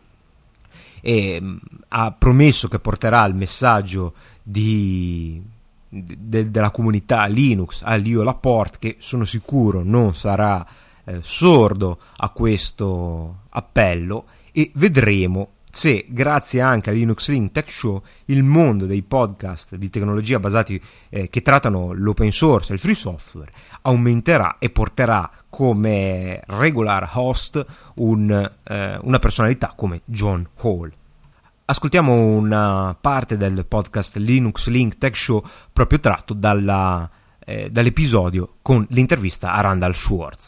Speaker 2: e mh, ha promesso che porterà il messaggio di De, della comunità Linux a Leo Laporte, che sono sicuro non sarà eh, sordo a questo appello e vedremo se grazie anche a Linux Link Tech Show il mondo dei podcast di tecnologia basati eh, che trattano l'open source e il free software aumenterà e porterà come regular host un, eh, una personalità come John Hall. Ascoltiamo una parte del podcast Linux Link Tech Show proprio tratto dalla, eh, dall'episodio con l'intervista a Randall Schwartz.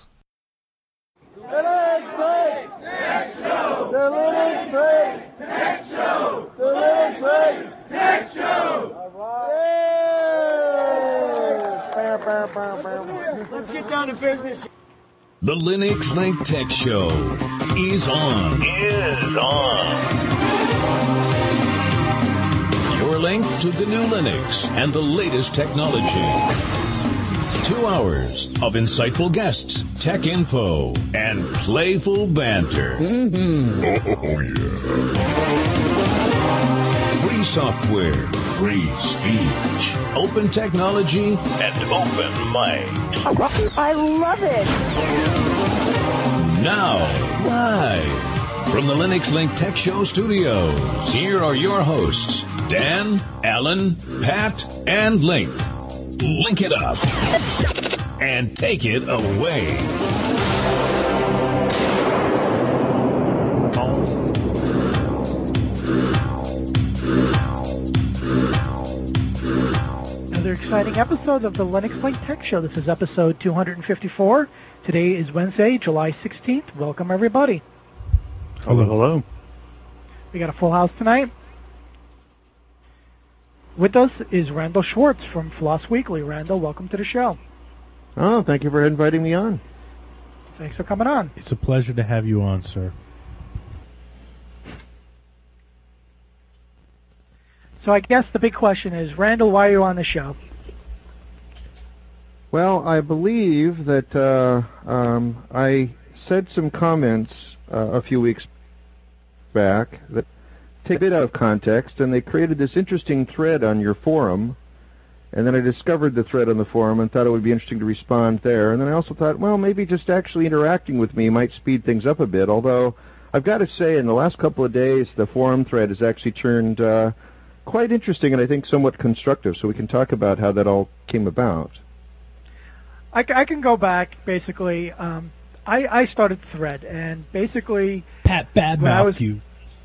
Speaker 17: The Linux Link Tech Show! The Linux Link Tech Show! Let's get down to business.
Speaker 18: The Linux Link Tech Show is on. Is on. Your link to the new Linux and the latest technology. Two hours of insightful guests, tech info, and playful banter. Mm-hmm. Oh, yeah. Free software, free speech, open technology, and open minds.
Speaker 17: I love it.
Speaker 18: Now, live from the Linux Link Tech Show studios, here are your hosts, Dan, Alan, Pat, and Link. Link it up and take it away.
Speaker 19: Another exciting episode of the Linux Link Tech Show. This is episode two fifty-four. Today is Wednesday, July sixteenth. Welcome, everybody.
Speaker 20: Hello, hello.
Speaker 19: We got a full house tonight. With us is Randall Schwartz from Floss Weekly. Randall, welcome to the show.
Speaker 20: Oh, thank you for inviting me on.
Speaker 19: Thanks for coming on.
Speaker 21: It's a pleasure to have you on, sir.
Speaker 19: So I guess the big question is, Randall, why are you on the show?
Speaker 20: Well, I believe that uh, um, I said some comments uh, a few weeks back that take a bit out of context, and they created this interesting thread on your forum, and then I discovered the thread on the forum and thought it would be interesting to respond there, and then I also thought, well, maybe just actually interacting with me might speed things up a bit, although I've got to say in the last couple of days the forum thread has actually turned uh, quite interesting and I think somewhat constructive, so we can talk about how that all came about.
Speaker 19: I, I can go back, basically. Um, I, I started the thread, and basically...
Speaker 21: Pat badmouthed you.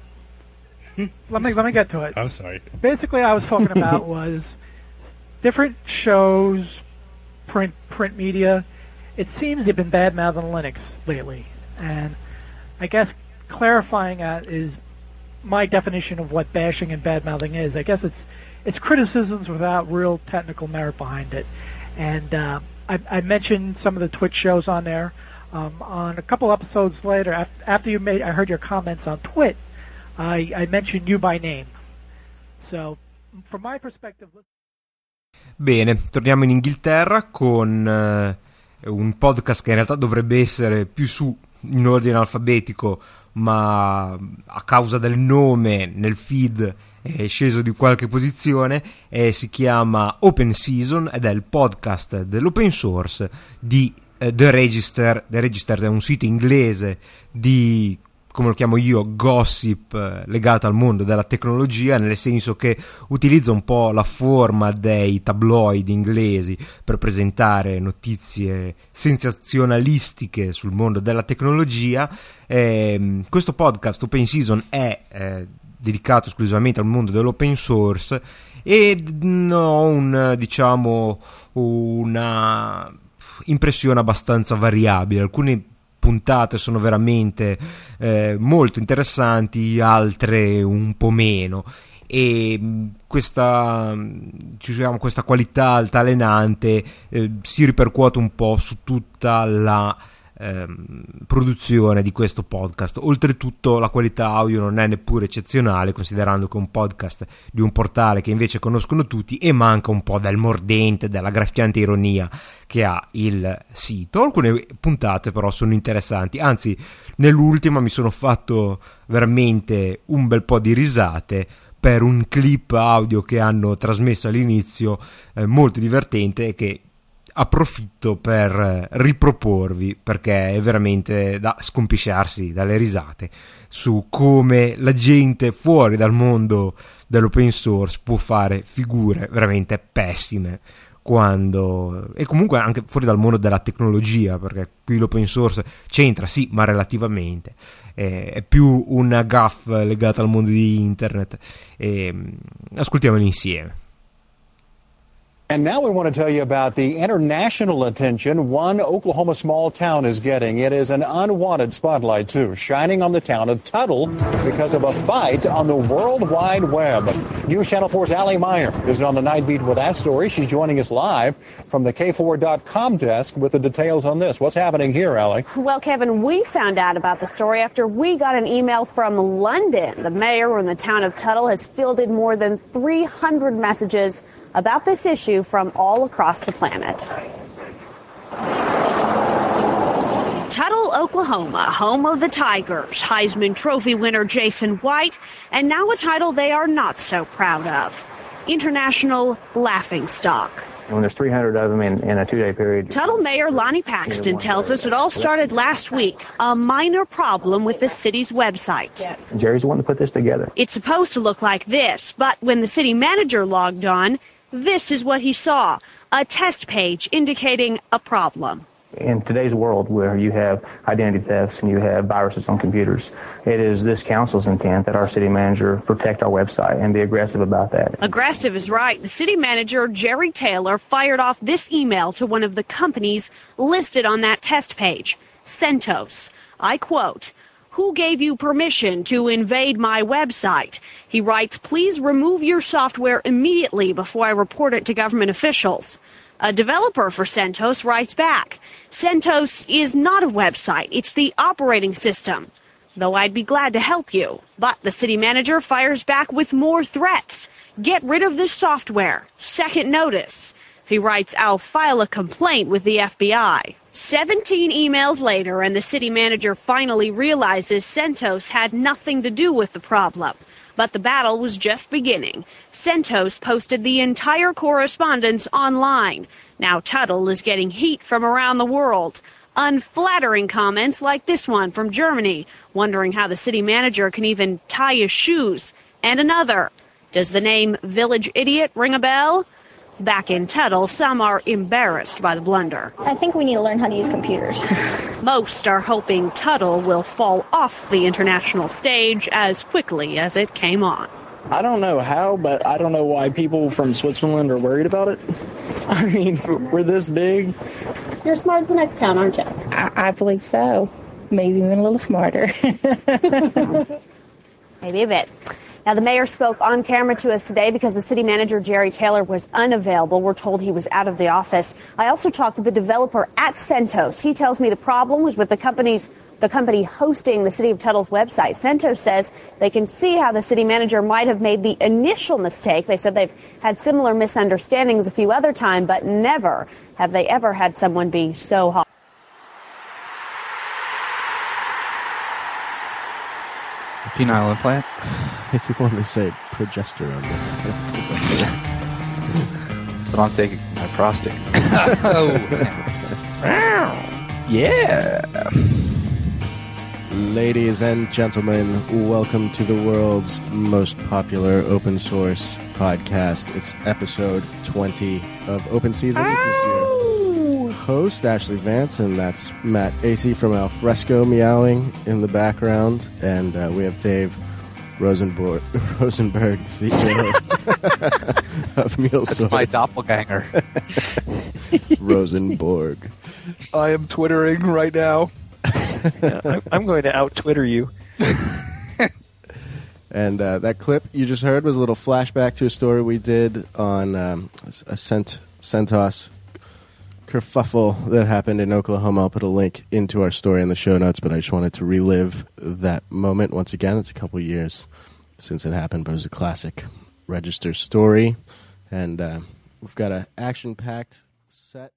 Speaker 19: Let me let me get to it.
Speaker 21: I'm sorry.
Speaker 19: Basically, I was talking about was different shows, print print media. It seems they've been bad mouthing Linux lately, and I guess clarifying that is my definition of what bashing and bad mouthing is. I guess it's it's criticisms without real technical merit behind it. And uh, I, I mentioned some of the Twitch shows on there. Um, on a couple episodes later, after, after you made, I heard your comments on Twit. I, I mentioned you by name. So, from my perspective...
Speaker 2: Bene, torniamo in Inghilterra con uh, un podcast che in realtà dovrebbe essere più su in ordine alfabetico, ma a causa del nome nel feed è sceso di qualche posizione, e si chiama Open Season ed è il podcast dell'open source di uh, The Register. The Register è un sito inglese di, come lo chiamo io, gossip eh, legato al mondo della tecnologia, nel senso che utilizza un po' la forma dei tabloid inglesi per presentare notizie sensazionalistiche sul mondo della tecnologia. Eh, questo podcast Open Season è eh, dedicato esclusivamente al mondo dell'open source e ho un, diciamo, una impressione abbastanza variabile. Alcune puntate sono veramente eh, molto interessanti, altre un po' meno, e questa, diciamo, questa qualità altalenante eh, si ripercuote un po' su tutta la eh, produzione di questo podcast. Oltretutto la qualità audio non è neppure eccezionale, considerando che è un podcast di un portale che invece conoscono tutti, e manca un po' del mordente, della graffiante ironia che ha il sito. Alcune puntate però sono interessanti, anzi nell'ultima mi sono fatto veramente un bel po' di risate per un clip audio che hanno trasmesso all'inizio, eh, molto divertente, e che approfitto per riproporvi, perché è veramente da scompisciarsi dalle risate, su come la gente fuori dal mondo dell'open source può fare figure veramente pessime, quando e comunque anche fuori dal mondo della tecnologia, perché qui l'open source c'entra sì, ma relativamente è, è più una gaffe legata al mondo di internet. E ascoltiamoli insieme.
Speaker 1: And now we want to tell you about the international attention one Oklahoma small town is getting. It is an unwanted spotlight, too, shining on the town of Tuttle because of a fight on the World Wide Web. News Channel four's Allie Meyer is on the night beat with that story. She's joining us live from the K four dot com desk with the details on this. What's happening here, Allie?
Speaker 22: Well, Kevin, we found out about the story after we got an email from London. The mayor in the town of Tuttle has fielded more than three hundred messages about this issue from all across the planet. Tuttle, Oklahoma, home of the Tigers, Heisman Trophy winner Jason White, and now a title they are not so proud of, International Laughingstock.
Speaker 23: When there's three hundred of them in, in a two-day period.
Speaker 22: Tuttle Mayor Lonnie Paxton tells us it all started last week, a minor problem with the city's website.
Speaker 23: Jerry's the one that put this together.
Speaker 22: It's supposed to look like this, but when the city manager logged on, this is what he saw, a test page indicating a problem.
Speaker 23: In today's world where you have identity thefts and you have viruses on computers, it is this council's intent that our city manager protect our website and be aggressive about that.
Speaker 22: Aggressive is right. The city manager, Jerry Taylor, fired off this email to one of the companies listed on that test page, CentOS. I quote, "Who gave you permission to invade my website?" He writes, "Please remove your software immediately before I report it to government officials." A developer for CentOS writes back, "CentOS is not a website. It's the operating system. Though I'd be glad to help you." But the city manager fires back with more threats. "Get rid of this software. Second notice." He writes, "I'll file a complaint with the F B I." Seventeen emails later, and the city manager finally realizes CentOS had nothing to do with the problem. But the battle was just beginning. CentOS posted the entire correspondence online. Now Tuttle is getting heat from around the world. Unflattering comments like this one from Germany, wondering how the city manager can even tie his shoes. And another, "Does the name Village Idiot ring a bell?" Back in Tuttle, some are embarrassed by the blunder.
Speaker 24: I think we need to learn how to use computers.
Speaker 22: Most are hoping Tuttle will fall off the international stage as quickly as it came on.
Speaker 25: I don't know how, but I don't know why people from Switzerland are worried about it. I mean, we're this big.
Speaker 24: You're as smart as the next town, aren't you?
Speaker 26: I, I believe so. Maybe even a little smarter.
Speaker 22: Maybe a bit. Now, the mayor spoke on camera to us today because the city manager, Jerry Taylor, was unavailable. We're told he was out of the office. I also talked with the developer at CentOS. He tells me the problem was with the company's the company hosting the City of Tuttle's website. CentOS says they can see how the city manager might have made the initial mistake. They said they've had similar misunderstandings a few other times, but never have they ever had someone be so hot.
Speaker 27: Penile implant?
Speaker 28: I keep wanting to say progesterone.
Speaker 27: But I'm taking my prostate. Oh, yeah.
Speaker 28: Ladies and gentlemen, welcome to the world's most popular open source podcast. It's episode twenty of Open Season. This is your host, Ashley Vance, and that's Matt Acey from Alfresco meowing in the background. And uh, we have Dave Rosenborg, Rosenberg, C E O of MuleSource.
Speaker 27: That's my doppelganger.
Speaker 28: Rosenborg.
Speaker 27: I am twittering right now.
Speaker 29: Yeah, I'm, I'm going to out-Twitter you.
Speaker 28: And uh, that clip you just heard was a little flashback to a story we did on um, a Cent- CentOS kerfuffle that happened in Oklahoma. I'll put a link into our story in the show notes, but I just wanted to relive that moment once again. It's a couple years since it happened, but it was a classic Register story. And uh, we've got an action-packed set.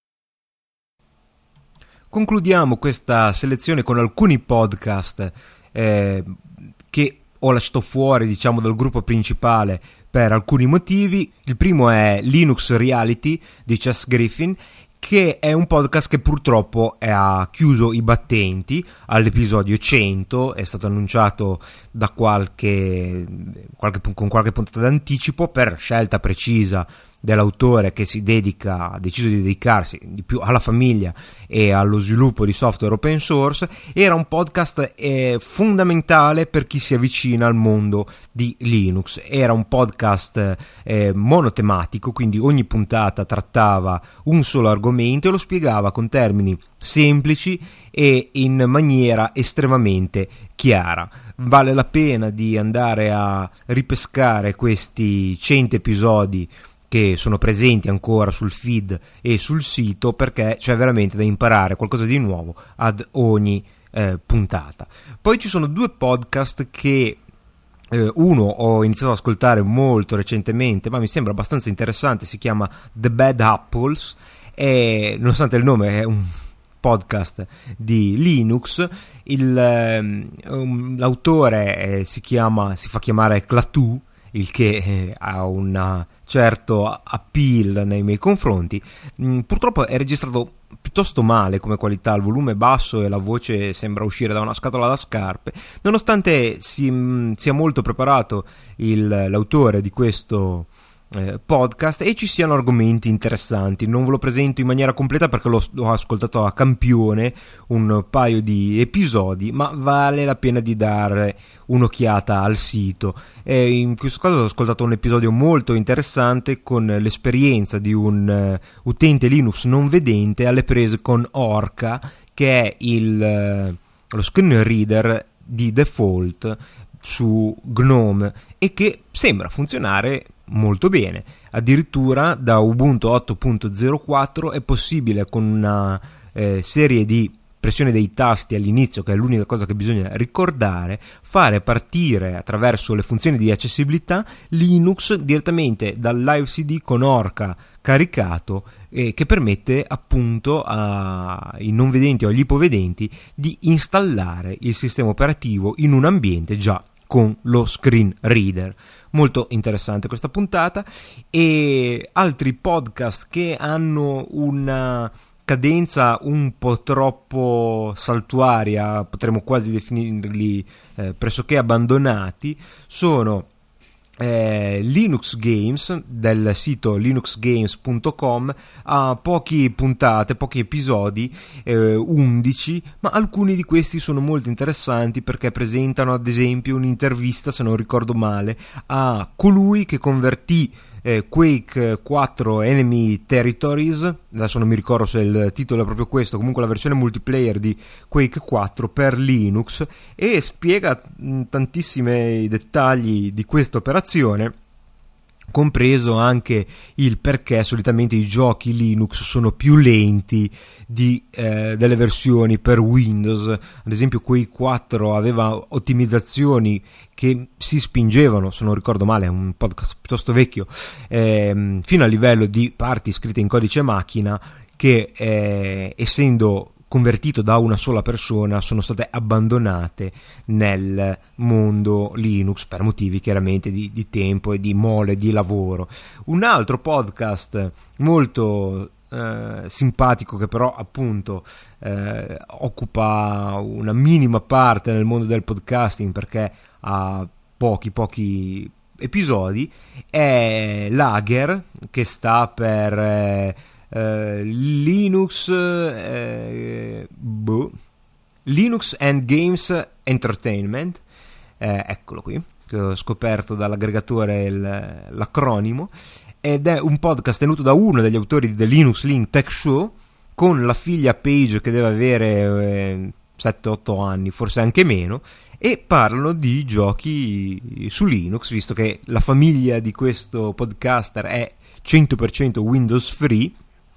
Speaker 2: Concludiamo questa selezione con alcuni podcast eh, che ho lasciato fuori, diciamo, dal gruppo principale per alcuni motivi. Il primo è Linux Reality di Chess Griffin, che è un podcast che purtroppo ha chiuso i battenti all'episodio cento, è stato annunciato da qualche, qualche con qualche puntata d'anticipo per scelta precisa dell'autore, che si dedica, ha deciso di dedicarsi di più alla famiglia e allo sviluppo di software open source. Era un podcast eh, fondamentale per chi si avvicina al mondo di Linux. Era un podcast eh, monotematico, quindi ogni puntata trattava un solo argomento e lo spiegava con termini semplici e in maniera estremamente chiara. Vale la pena di andare a ripescare questi cento episodi che sono presenti ancora sul feed e sul sito, perché c'è veramente da imparare qualcosa di nuovo ad ogni eh, puntata. Poi ci sono due podcast che eh, uno ho iniziato ad ascoltare molto recentemente, ma mi sembra abbastanza interessante, si chiama The Bad Apples e nonostante il nome è un podcast di Linux, il, eh, um, l'autore eh, si chiama si fa chiamare Klaatu, il che eh, ha un certo appeal nei miei confronti. Mm, purtroppo è registrato piuttosto male come qualità, il volume è basso e la voce sembra uscire da una scatola da scarpe, nonostante si, mh, sia molto preparato il, l'autore di questo eh, podcast e ci siano argomenti interessanti. Non ve lo presento in maniera completa perché l'ho, l'ho ascoltato a campione un paio di episodi, ma vale la pena di dare un'occhiata al sito. E in questo caso ho ascoltato un episodio molto interessante con l'esperienza di un uh, utente Linux non vedente alle prese con Orca, che è il, uh, lo screen reader di default su GNOME e che sembra funzionare molto bene. Addirittura da Ubuntu otto punto zero quattro è possibile, con una eh, serie di pressione dei tasti all'inizio, che è l'unica cosa che bisogna ricordare, fare partire attraverso le funzioni di accessibilità Linux direttamente dal live C D con Orca caricato, eh, che permette appunto ai non vedenti o agli ipovedenti di installare il sistema operativo in un ambiente già con lo screen reader. Molto interessante questa puntata. E altri podcast che hanno una cadenza un po' troppo saltuaria, potremmo quasi definirli eh, pressoché abbandonati, sono eh, Linux Games del sito linux games punto com. Ha poche puntate, pochi episodi, eh, undici, ma alcuni di questi sono molto interessanti perché presentano ad esempio un'intervista, se non ricordo male, a colui che convertì Eh, Quake quattro Enemy Territories, adesso non mi ricordo se il titolo è proprio questo, comunque la versione multiplayer di Quake quattro per Linux, e spiega mh, tantissimi dettagli di questa operazione, compreso anche il perché solitamente i giochi Linux sono più lenti di, eh, delle versioni per Windows. Ad esempio Quake quattro aveva ottimizzazioni che si spingevano, se non ricordo male, è un podcast piuttosto vecchio, ehm, fino a livello di parti scritte in codice macchina che eh, essendo convertito da una sola persona sono state abbandonate nel mondo Linux per motivi chiaramente di, di tempo e di mole di lavoro. Un altro podcast molto eh, simpatico, che però appunto eh, occupa una minima parte nel mondo del podcasting perché ha pochi pochi episodi, è Lager, che sta per eh, Uh, Linux uh, boh, Linux and Games Entertainment, eh, eccolo qui, che ho scoperto dall'aggregatore il, l'acronimo, ed è un podcast tenuto da uno degli autori di The Linux Link Tech Show, con la figlia Paige che deve avere eh, sette otto anni, forse anche meno, e parlano di giochi su Linux, visto che la famiglia di questo podcaster è cento per cento Windows Free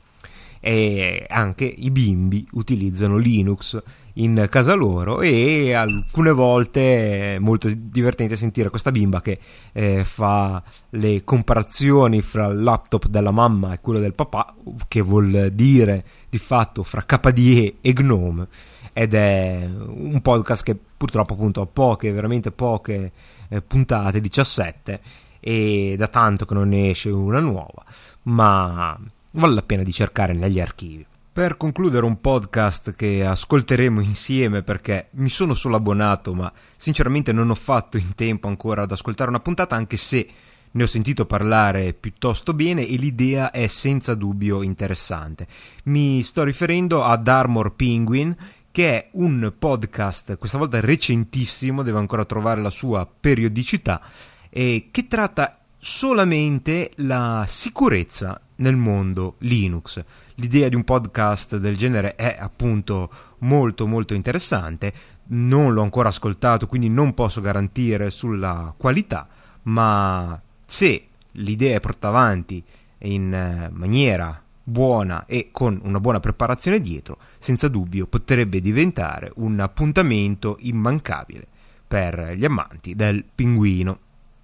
Speaker 2: e anche i bimbi utilizzano Linux in casa loro, e alcune volte è molto divertente sentire questa bimba che eh, fa le comparazioni fra il laptop della mamma e quello del papà, che vuol dire di fatto fra K D E e GNOME, ed è un podcast che purtroppo appunto ha poche, veramente poche eh, puntate, diciassette, e da tanto che non ne esce una nuova, ma vale la pena di cercare negli archivi. Per concludere un podcast che ascolteremo insieme, perché mi sono solo abbonato ma sinceramente non ho fatto in tempo ancora ad ascoltare una puntata, anche se ne ho sentito parlare piuttosto bene e l'idea è senza dubbio interessante. Mi sto riferendo ad Armor Penguin, che è un podcast questa volta recentissimo, deve ancora trovare la sua periodicità, e che tratta solamente la sicurezza nel mondo Linux. L'idea di un podcast del genere è appunto molto molto interessante, non l'ho ancora ascoltato quindi non posso garantire sulla qualità, ma se l'idea è portata avanti in maniera buona e con una buona preparazione dietro, senza dubbio potrebbe diventare un appuntamento immancabile per gli amanti del pinguino.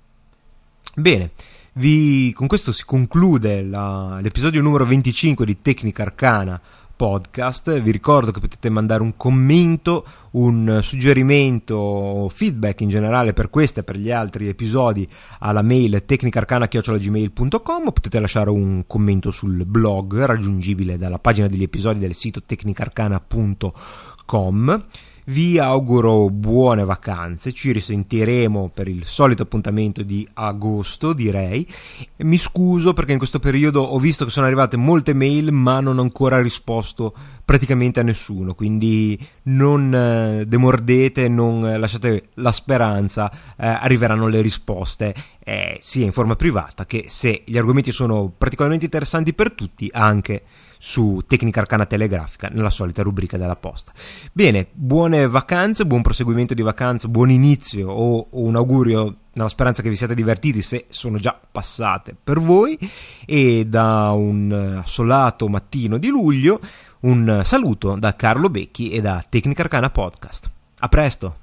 Speaker 2: Bene, vi, con questo si conclude la, l'episodio numero venticinque di Tecnica Arcana Podcast. Vi ricordo che potete mandare un commento, un suggerimento, feedback in generale per questo e per gli altri episodi alla mail tecnicarcana chiocciola gmail punto com, o potete lasciare un commento sul blog raggiungibile dalla pagina degli episodi del sito tecnicarcana punto com. Vi auguro buone vacanze, ci risentiremo per il solito appuntamento di agosto, direi. Mi scuso perché in questo periodo ho visto che sono arrivate molte mail ma non ho ancora risposto praticamente a nessuno, quindi non eh, demordete, non eh, lasciate la speranza, eh, arriveranno le risposte eh, sia in forma privata che, se gli argomenti sono particolarmente interessanti per tutti, anche su Tecnica Arcana Telegrafica nella solita rubrica della posta. Bene, buone vacanze, buon proseguimento di vacanze, buon inizio o, o un augurio nella speranza che vi siate divertiti se sono già passate per voi, e da un assolato mattino di luglio un saluto da Carlo Becchi e da Tecnica Arcana Podcast. A presto!